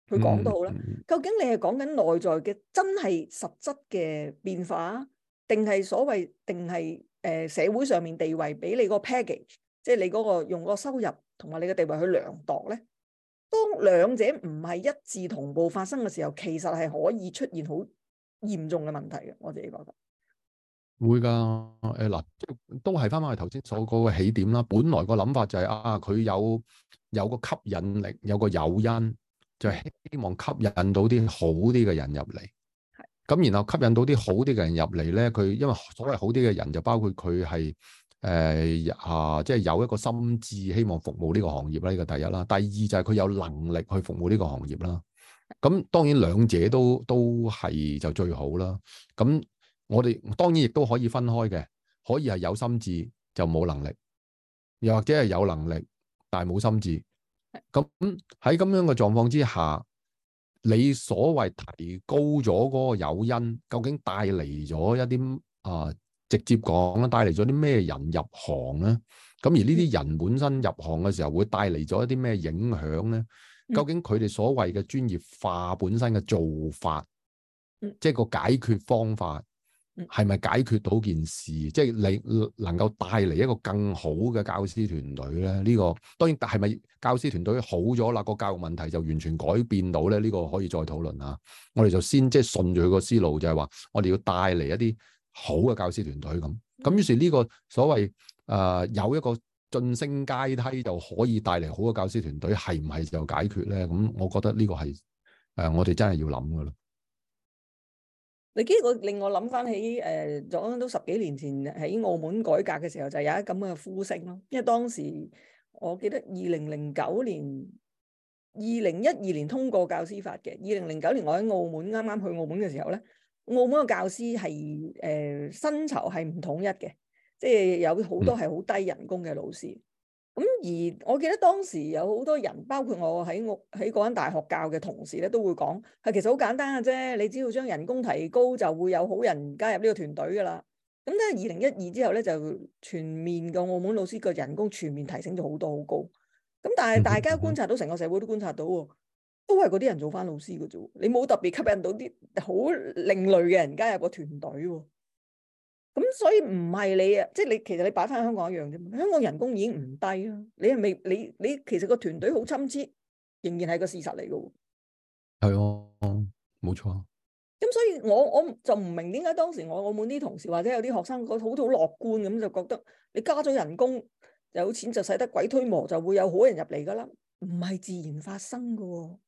佢講都好啦。 嗯究竟你係講緊內在嘅真係實質嘅變化，定係社會上面地位俾你個 package，即係你嗰個用個收入同埋你嘅地位去量度咧？當兩者唔係一致同步發生嘅時候，其實係可以出現好嚴重嘅問題嘅。我自己覺得會㗎，嗱，都係翻返去頭先所講嘅起點啦。本來個諗法就係佢有個吸引力，有個誘因，就係希望吸引到啲好啲嘅人入嚟。咁然後吸引到啲好啲嘅人入嚟咧，佢因為所謂好啲嘅人就包括佢係即係有一個心志，希望服務呢個行業啦，呢個第一啦。第二就係佢有能力去服務呢個行業啦。咁當然兩者都係就最好啦。咁我哋當然亦都可以分開嘅，可以係有心志就冇能力，又或者係有能力但係冇心志。咁喺咁樣嘅狀況之下，你所謂提高咗嗰個誘因，究竟帶嚟咗一啲直接講啦，帶嚟咗啲咩人入行咧？咁而呢啲人本身入行嘅時候，會帶嚟咗一啲咩影響咧？究竟佢哋所謂嘅專業化本身嘅做法，即係個解決方法，係咪解決到件事？即係你能夠帶嚟一個更好嘅教師團隊咧？呢個當然係咪教師團隊好咗啦？個教育問題就完全改變到咧？呢個可以再討論下。我哋就先即係順住佢個思路，就係話我哋要帶嚟一啲好嘅教師團隊咁。咁於是呢個所謂有一個晉升階梯就可以帶嚟好嘅教師團隊，係唔係就解決咧？咁我覺得呢個係我哋真係要諗噶啦。 你呢個令我諗翻起講都10幾年前喺澳門改革嘅時候，就有一咁嘅呼聲咯。因為當時我記得2009年、2012年通過教師法嘅。2009年我喺澳門啱啱去澳門嘅時候咧，澳門嘅教師係薪酬係唔統一嘅，即係有好多係好低人工嘅老師。咁而我記得當時有好多人，包括我喺嗰間大學教嘅同事咧，都會講係其實好簡單嘅啫，你只要將人工提高，就會有好人加入呢個團隊噶啦。咁咧2012之後咧，就全面嘅澳門老師個人工全面提升咗好多好高。咁但係大家觀察到，成個社會都觀察到喎，都係嗰啲人做翻老師嘅啫，你冇特別吸引到啲好另類嘅人加入個團隊喎。咁所以唔係你啊，即係你其實你擺翻香港一樣啫嘛。香港人工已經唔低啦，你係咪你其實個團隊好參差，仍然係個事實嚟嘅喎。 係啊，冇錯。 咁所以我就唔明點解當時我澳門啲同事或者有啲學生好樂觀咁，就覺得你加咗人工，有錢就使得鬼推磨，就會有好人入嚟噶啦，唔係自然發生嘅喎。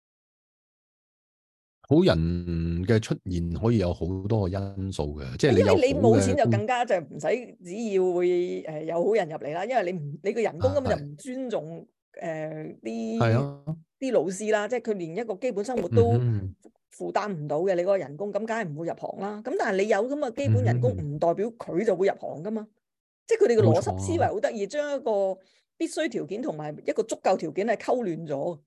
好人嘅出現可以有好多個因素嘅，即係因為你冇錢就更加就唔使只要會有好人入嚟啦，因為你個人工根本就唔尊重啲老師啦，即係佢連一個基本生活都負擔唔到嘅，你嗰個人工咁梗係唔會入行啦。咁但係你有咁嘅基本人工，唔代表佢就會入行噶嘛。即係佢哋嘅邏輯思維好得意，將一個必須條件同埋一個足夠條件係溝亂咗。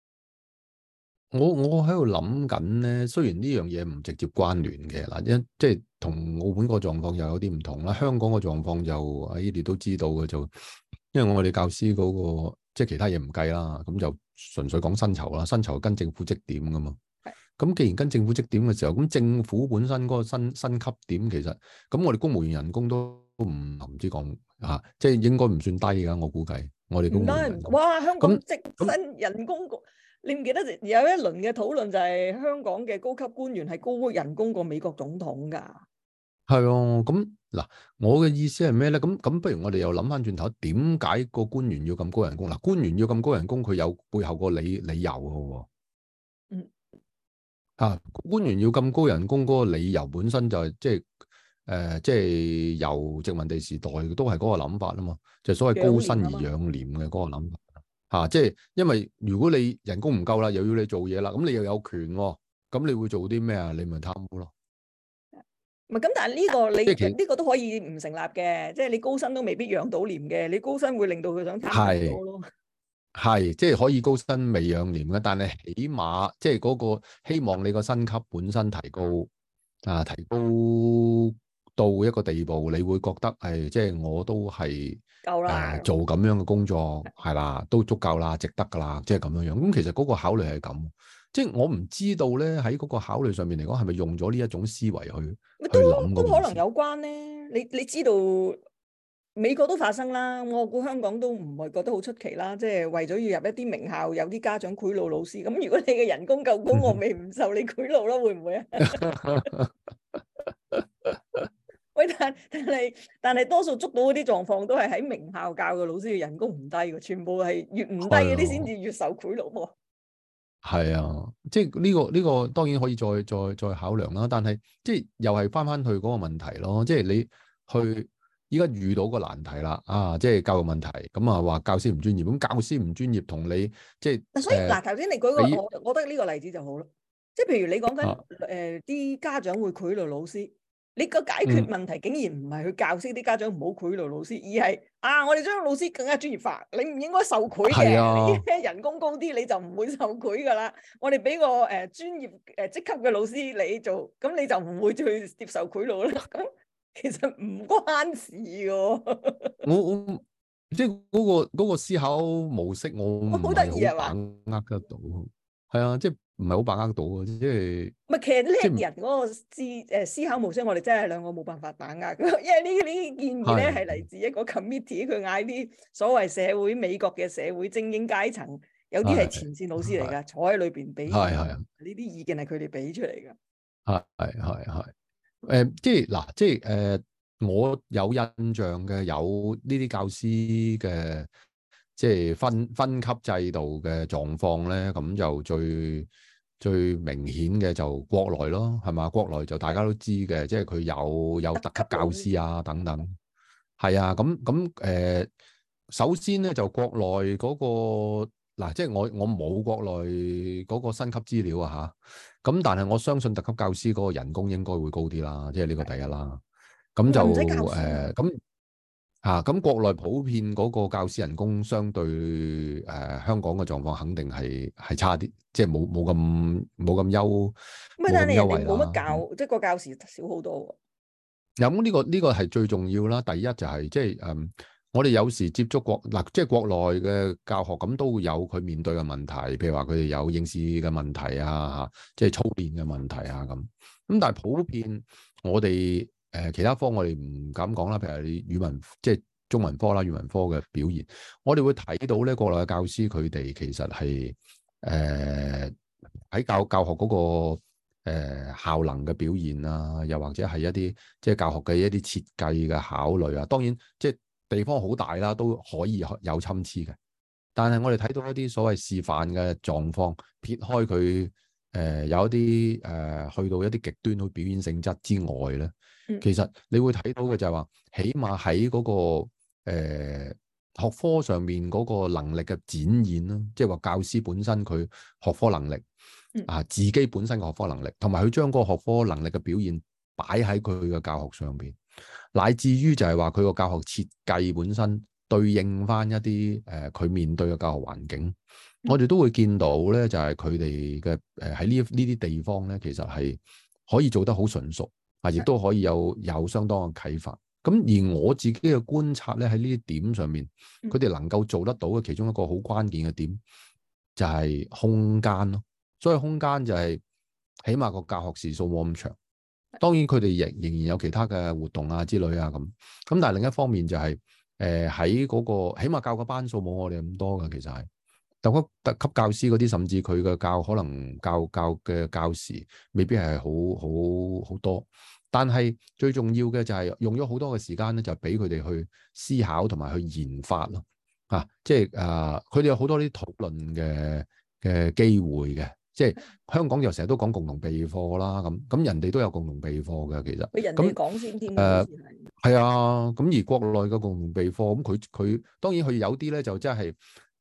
我喺度諗緊咧，雖然呢樣嘢唔直接關聯嘅嗱，即係同澳門個狀況又有啲唔同啦。香港個狀況就喺你哋都知道嘅，就因為我哋教師嗰個即係其他嘢唔計啦，咁就純粹講薪酬啦，薪酬跟政府績點噶嘛。咁既然跟政府績點嘅時候，咁政府本身嗰個薪級點其實咁我哋公務員人工都唔知講嚇，即係應該唔算低㗎。我估計我哋公務員人工哇，香港職薪人工你唔記得有一輪嘅討論就係香港嘅高級官員係高人工過美國總統㗎。 係啊，咁嗱，我嘅意思係咩咧？咁不如我哋又諗翻轉頭，點解個官員要咁高人工？嗱，官員要咁高人工，佢有背後個理由嘅喎。官員要咁高人工嗰個理由本身就係即係由殖民地時代都係嗰個諗法啊嘛，就係所謂高薪而養廉嘅嗰個諗法。即係因為如果你人工唔夠啦，又要你做嘢啦，咁你又有權喎，咁你會做啲咩啊？你咪貪污咯。 唔係咁，但係呢個都可以唔成立嘅，即係你高薪都未必養到廉嘅，你高薪會令到佢想貪多咯。 係，即係可以高薪未養廉嘅，但係起碼即係嗰個希望你個薪級本身提高提高到一個地步，你會覺得即係我都係夠啦，做咁樣嘅工作係啦，都足夠啦，值得噶啦，即係咁樣樣。咁其實嗰個考慮係咁， 即係我唔知道咧喺嗰個考慮上面嚟講，係咪用咗呢一種思維去都諗嗰件事？ 都可能有關咧。你知道美國都發生啦，我估香港都唔係覺得好出奇啦。即係為咗要入一啲名校，有啲家長賄賂老師。咁如果你嘅人工夠高，我咪唔受你賄賂咯，會唔會啊？喂，但係多數捉到嗰啲狀況都係喺名校教嘅老師嘅人工唔低嘅，全部係越唔低嗰啲先至越受賄賂喎。 係啊，即係呢個當然可以再考量啦，但係即係又係翻去嗰個問題咯，即係你去依家遇到個難題啦，即係教育問題，咁啊話教師唔專業，咁教師唔專業同你即係所以嗱，頭先你舉個你我覺得呢個例子就好咯，即係譬如你講緊啊啲家長會賄賂老師，你個解決問題竟然唔係去教識啲家長唔好賄賂老師，而係我哋將老師更加專業化，你唔應該受賄嘅，你人工高啲你就唔會受賄噶啦。我哋俾個專業職級嘅老師你做，咁你就唔會去接受賄賂啦。咁其實唔關事嘅。 我即係嗰個思考模式，我唔好得意係好係嘛？ 把握得到，係啊，即係唔係好把握到啊，即係唔係，其實即叻人嗰個思考模式，我哋真係兩個冇辦法把握嘅，因為呢建議咧係嚟自一個 committee，佢嗌啲所謂美國嘅社會精英階層，有啲係前線老師嚟㗎，坐喺裏邊俾呢啲意見係佢哋俾出嚟㗎。 即係嗱，即係我有印象嘅有呢啲教師嘅即係分級制度嘅狀況咧，咁就最明顯嘅就國內咯，係嘛？國內就大家都知嘅，即係佢有特級教師啊等等。係啊，咁首先咧就國內嗰個嗱，即係我冇國內嗰個薪級資料啊嚇。咁但係我相信特級教師嗰個人工應該會高啲啦，即係呢個第一啦。咁就咁國內普遍嗰個教師人工相對香港嘅狀況肯定係差啲，即係冇咁優但係人哋惠啦。 冇乜教，即係個教時少好多喎。 咁呢個係最重要啦。第一就係即係我哋有時接觸即係國內嘅教學，咁都會有佢面對嘅問題，譬如話佢哋有應試嘅問題啊，即係操練嘅問題啊咁。咁但係普遍我哋其他科我哋唔敢講啦，譬如你語文即係中文科啦，語文科嘅表現，我哋會睇到咧國內嘅教師佢哋其實係喺教學嗰個效能嘅表現啊，又或者係一啲即係教學嘅一啲設計嘅考慮啊。當然即係地方好大啦，都可以有參差嘅。但係我哋睇到一啲所謂示範嘅狀況，撇開佢有一啲去到一啲極端去表演性質之外咧，其實你會睇到嘅就係話，起碼喺嗰個學科上面嗰個能力嘅展現啦，即係話教師本身佢學科能力自己本身嘅學科能力，同埋佢將嗰個學科能力嘅表現擺喺佢嘅教學上邊，乃至於就係話佢個教學設計本身對應翻一啲佢面對嘅教學環境，我哋都會見到咧，就係佢哋嘅喺呢啲地方咧，其實係可以做得好純熟亦都可以有相當嘅啟發。咁而我自己嘅觀察咧，喺呢啲點上面，佢哋能夠做得到嘅其中一個好關鍵嘅點就係空間咯。所以空間就係起碼個教學時數冇咁長。當然佢哋仍然有其他嘅活動啊之類啊咁。但係另一方面就係喺嗰個起碼教個班數冇我哋咁多嘅，其實係特級教師嗰啲，甚至佢嘅可能教嘅教時未必係好多。但係最重要嘅就係用咗好多嘅時間咧，就俾佢哋去思考同埋去研發咯。即係佢哋有好多啲討論嘅機會嘅。即係香港就成日都講共同備課啦，咁人哋都有共同備課嘅，其實。 俾人哋講先添。 係啊，咁而國內嘅共同備課，咁佢當然佢有啲咧就即係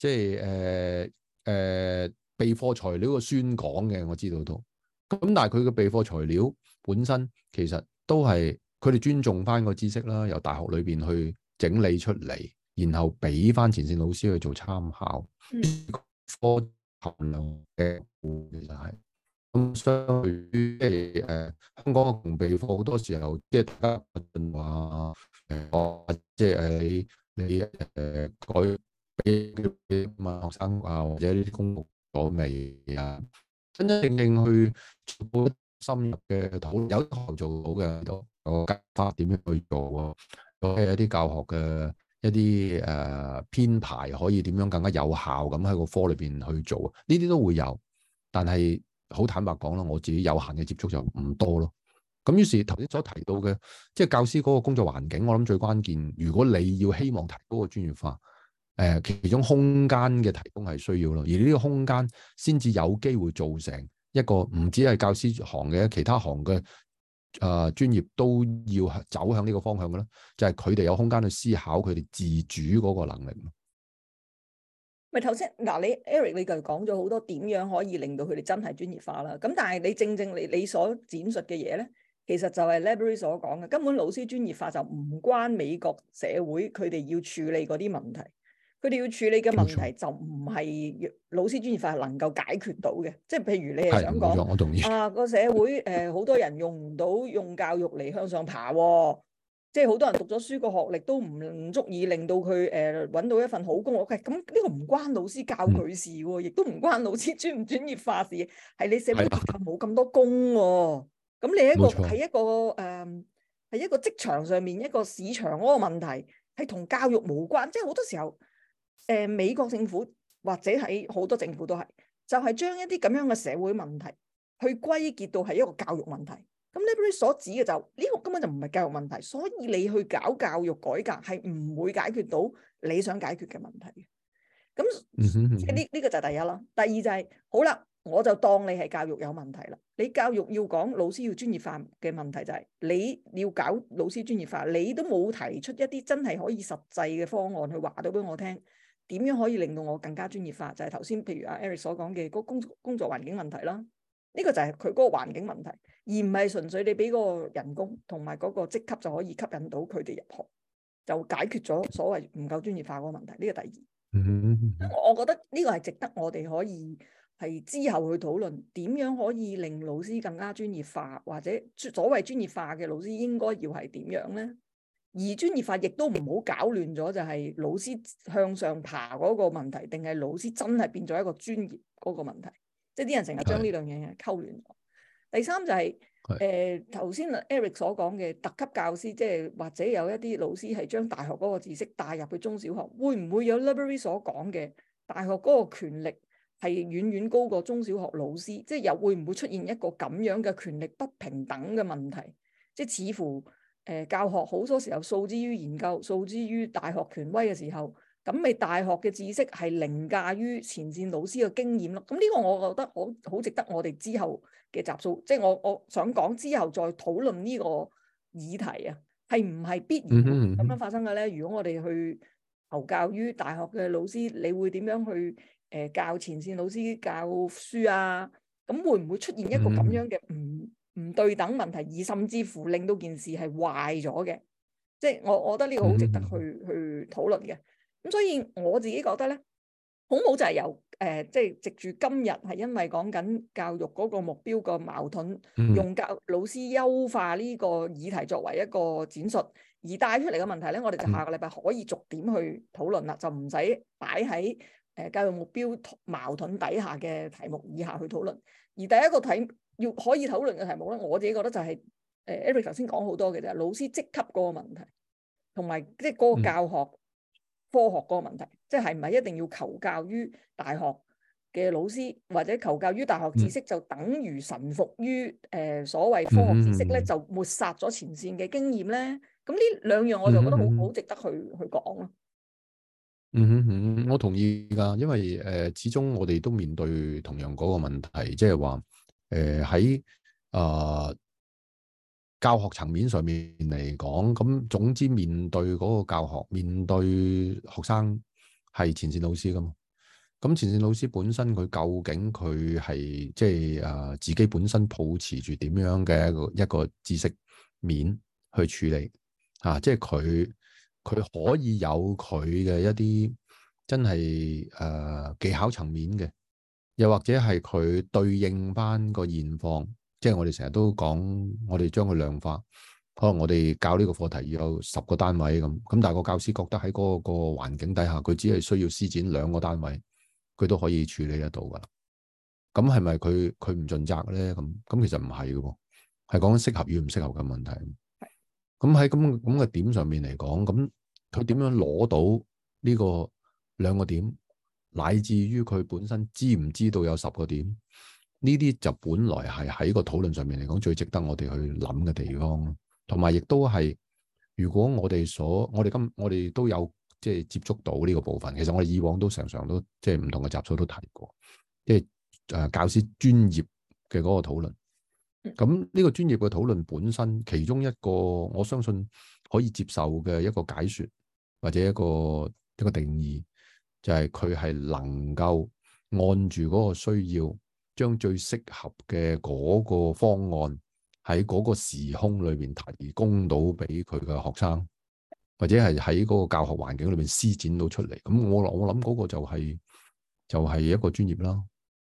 備課材料嘅宣講嘅，我知道都。咁但係佢嘅備課材料本身其實都係佢哋尊重翻個知識啦，由大學裏邊去整理出嚟，然後俾翻前線老師去做參考。科含量嘅其實係咁，相對於即係香港嘅共同備課，好多時候即係大家話即係你改俾學生或者呢啲公佈咗未啊？ 真真正正去做一深入嘅討論，有學校做到嘅，有教法點樣去做啊？有一啲教學嘅一啲編排可以點樣更加有效咁喺個科裏邊去做，呢啲都會有。但係好坦白講啦，我自己有限嘅接觸就唔多咯。咁於是頭先所提到嘅，即係教師嗰個工作環境，我諗最關鍵，如果你要希望提高個專業化，其中空間嘅提供係需要咯，而呢個空間先至有機會造成一個唔止係教師行嘅，其他行嘅專業都要走向呢個方向嘅啦，就係佢哋有空間去思考佢哋自主嗰個能力。 咪頭先嗱，你 Eric 你就講咗好多點樣可以令到佢哋真係專業化啦。咁但係你正正你所展述嘅嘢咧，其實就係 Labaree 所講嘅，根本老師專業化就唔關美國社會佢哋要處理嗰啲問題，佢哋要處理嘅問題就唔係老師專業化能夠解決到嘅。即係譬如你係想講， 我同意個社會好多人用唔到用教育嚟向上爬喎。即係好多人讀咗書個學歷都唔足以令到佢揾到一份好工。OK，咁呢個唔關老師教佢事喎，亦都唔關老師專唔專業化事，係你社會結構冇咁多工喎。咁你係一個職場上面一個市場嗰個問題，係同教育無關。即係好多時候美國政府或者喺好多政府都係，就係將一啲咁樣嘅社會問題去歸結到係一個教育問題。咁 Labaree 所指嘅就呢個根本就唔係教育問題，所以你去搞教育改革係唔會解決到你想解決嘅問題嘅。咁即係呢個就係第一啦。第二就係好啦，我就當你係教育有問題啦。你教育要講老師要專業化嘅問題就係你要搞老師專業化，你都冇提出一啲真係可以實際嘅方案去話到俾我聽，點樣可以令到我更加專業化？就係頭先譬如阿 Eric 所講嘅嗰工作環境問題啦。呢個就係佢嗰個環境問題，而唔係純粹你俾嗰個人工同埋嗰個職級就可以吸引到佢哋入學，就解決咗所謂唔夠專業化嗰個問題。呢個第二，我覺得呢個係值得我哋可以係之後去討論，點樣可以令老師更加專業化，或者所謂專業化嘅老師應該要係點樣呢？而專業化亦都唔好搞亂咗，就係老師向上爬嗰個問題，定係老師真係變咗一個專業嗰個問題？即係啲人成日將呢兩樣嘢溝亂咗。第三就係頭先 Eric 所講嘅特級教師，即係或者有一啲老師係將大學嗰個知識帶入去中小學，會唔會有 Labaree 所講嘅大學嗰個權力係遠遠高過中小學老師？即係又會唔會出現一個咁樣嘅權力不平等嘅問題？即係似乎教學好多時候訴之於研究，訴之於大學權威嘅時候，咁你大學嘅知識係凌駕於前線老師嘅經驗咯。咁呢個我覺得好值得我哋之後嘅集數，即係我想講之後再討論呢個議題啊，係唔係必然咁樣發生嘅咧？如果我哋去求教於大學嘅老師，你會點樣去教前線老師教書啊？咁會唔會出現一個咁樣嘅唔對等問題，而甚至乎令到件事係壞咗嘅？即係我覺得呢個好值得去討論嘅。咁所以我自己覺得咧，好冇就係由即係藉住今日係因為講緊教育嗰個目標個矛盾，用老師優化呢個議題作為一個展述，而帶出嚟嘅問題咧，我哋就下個禮拜可以逐點去討論啦，就唔使擺喺教育目標矛盾底下嘅題目以下去討論。而第一個要可以討論嘅題目咧，我自己覺得就係Eric 頭先講好多嘅啫，老師職級嗰個問題，同埋即係嗰個教學。科學嗰個問題，即係唔係一定要求教於大學嘅老師，或者求教於大學知識就等於臣服於所謂科學知識咧，就抹殺咗前線嘅經驗咧？咁呢兩樣我就覺得好值得去講咯。 我同意㗎，因為始終我哋都面對同樣嗰個問題，即係話喺教學層面上面嚟講，咁總之面對嗰個教學，面對學生係前線老師㗎嘛。咁前線老師本身佢究竟佢係即係自己本身抱持住點樣嘅一個知識面去處理即係佢可以有佢嘅一啲真係技巧層面嘅，又或者係佢對應翻個現況。即係我哋成日都講，我哋將佢量化，可能我哋教呢個課題要有10個單位咁，但係個教師覺得喺嗰個環境底下，佢只係需要施展2個單位，佢都可以處理得到噶啦。 咁係咪佢唔盡責咧？咁其實唔係嘅喎，係講緊適合與唔適合嘅問題。咁喺咁嘅點上面嚟講，咁佢點樣攞到呢個兩個點，乃至於佢本身知唔知道有10個點？呢啲就本來係喺個討論上面嚟講最值得我哋去諗嘅地方，同埋亦都係如果我哋都有即係接觸到呢個部分。其實我哋以往都常常都即係唔同嘅集數都提過，即係教師專業嘅嗰個討論。咁呢個專業嘅討論本身，其中一個我相信可以接受嘅一個解說或者一個定義，就係佢係能夠按住嗰個需要，將最適合嘅嗰個方案喺嗰個時空裏邊提供到俾佢嘅學生，或者係喺嗰個教學環境裏邊施展到出嚟。咁我諗嗰個就係一個專業啦。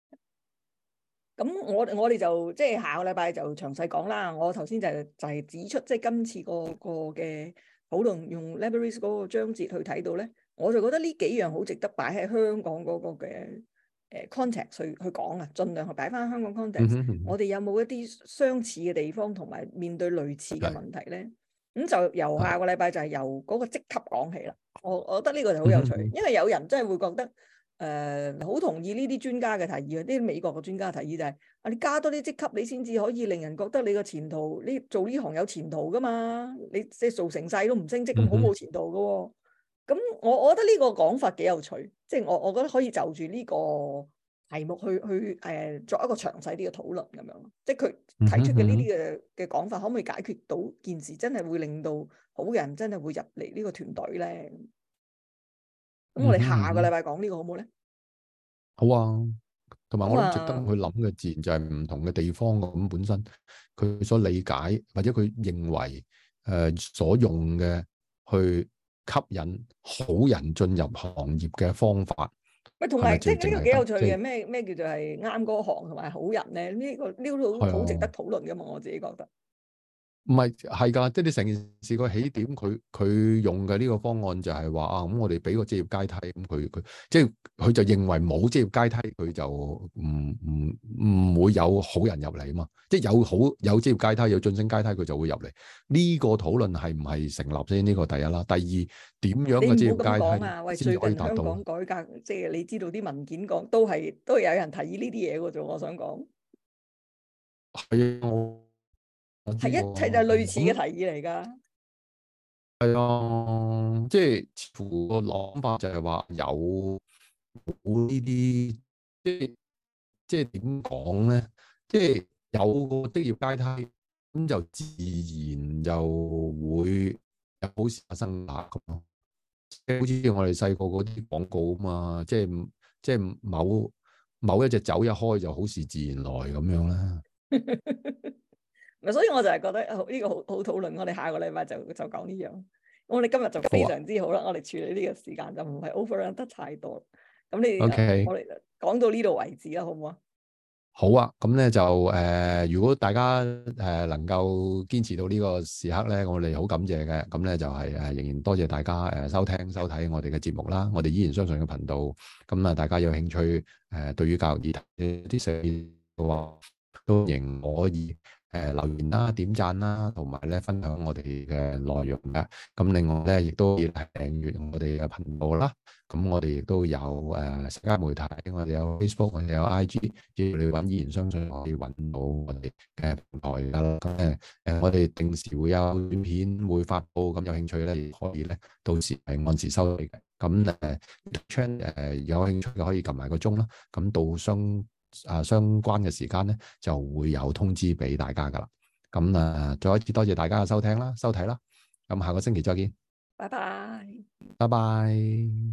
咁我哋就即係下個禮拜就詳細講啦。我頭先就係指出，即係今次個嘅討論用 libraries 嗰個章節去睇到咧，我就覺得呢幾樣好值得擺喺香港嗰個嘅context 去講啊，盡量去擺翻香港 context。我哋有冇一啲相似嘅地方，同埋面對類似嘅問題咧？咁就由下個禮拜就係由嗰個職級講起啦。我覺得呢個就好有趣，因為有人真係會覺得。好同意呢啲專家嘅提議啊！啲美國嘅專家提議就係你加多啲職級，你先至可以令人覺得你個前途，你做呢行有前途噶嘛？你即係做成世都唔升職，咁好冇前途噶喎。咁我覺得呢個講法幾有趣，即係我覺得可以就住呢個題目去作一個詳細啲嘅討論咁樣。即係佢提出嘅呢啲嘅講法，可唔可以解決到件事，真係會令到好人真係會入嚟呢個團隊咧？咁我哋下個禮拜講呢個好唔好咧？ 好啊，同埋我諗值得去諗嘅自然就係唔同嘅地方咁本身佢所理解或者佢認為所用嘅去吸引好人進入行業嘅方法。 喂，同埋即係呢個幾有趣嘅，咩叫做係啱嗰行同埋好人咧？呢個好值得討論噶嘛，我自己覺得。 唔係㗎，即係你成件事個起點，佢用嘅呢個方案就係話啊，咁我哋俾個職業階梯，咁佢即係佢就認為冇職業階梯，佢就唔會有好人入嚟啊嘛。即係有職業階梯，有晉升階梯，佢就會入嚟。呢個討論係唔係成立先？呢個第一啦。第二，點樣嘅職業階梯先可以達到？ 最近香港改革，即係你知道啲文件講都係有人提議呢啲嘢嘅啫。我想講係啊。 係一切就係類似嘅提議嚟㗎。 係啊，即係似乎個諗法就係話有呢啲，即係點講咧？即係有個職業階梯，咁就自然就會有好事發生啦咁咯。即係好似我哋細個嗰啲廣告啊嘛，即係某一隻酒一開就好事自然來咁樣啦。 所以我就係覺得呢個好討論。我哋下個禮拜就講呢樣。我哋今日就非常之好啦。我哋處理呢個時間就唔係 overrun 得太多。咁我哋講到呢度為止啦，好唔好啊？ 好啊，咁咧就如果大家能夠堅持到呢個時刻咧，我哋好感謝嘅。咁咧就係仍然多謝大家收聽收睇我哋嘅節目啦。我哋依然相信嘅頻道。咁啊，大家有興趣對於教育議題啲事嘅話，都仍可以留言啦、點讚啦，同埋咧分享我哋嘅內容嘅。咁另外咧，亦都可以訂閱我哋嘅頻道啦。咁我哋亦都有社交媒體，我哋有 Facebook，我哋有 IG， 只要你揾依然相信，可以揾到我哋嘅平台㗎啦。咁我哋定時會有短片會發布，咁有興趣咧，可以咧到時係按時收睇嘅。咁channel 有興趣嘅可以撳埋個鐘啦。咁到相關嘅時間咧，就會有通知俾大家噶啦。咁再一次多謝大家嘅收聽啦、收睇啦。咁下個星期再見。 拜拜。 拜拜。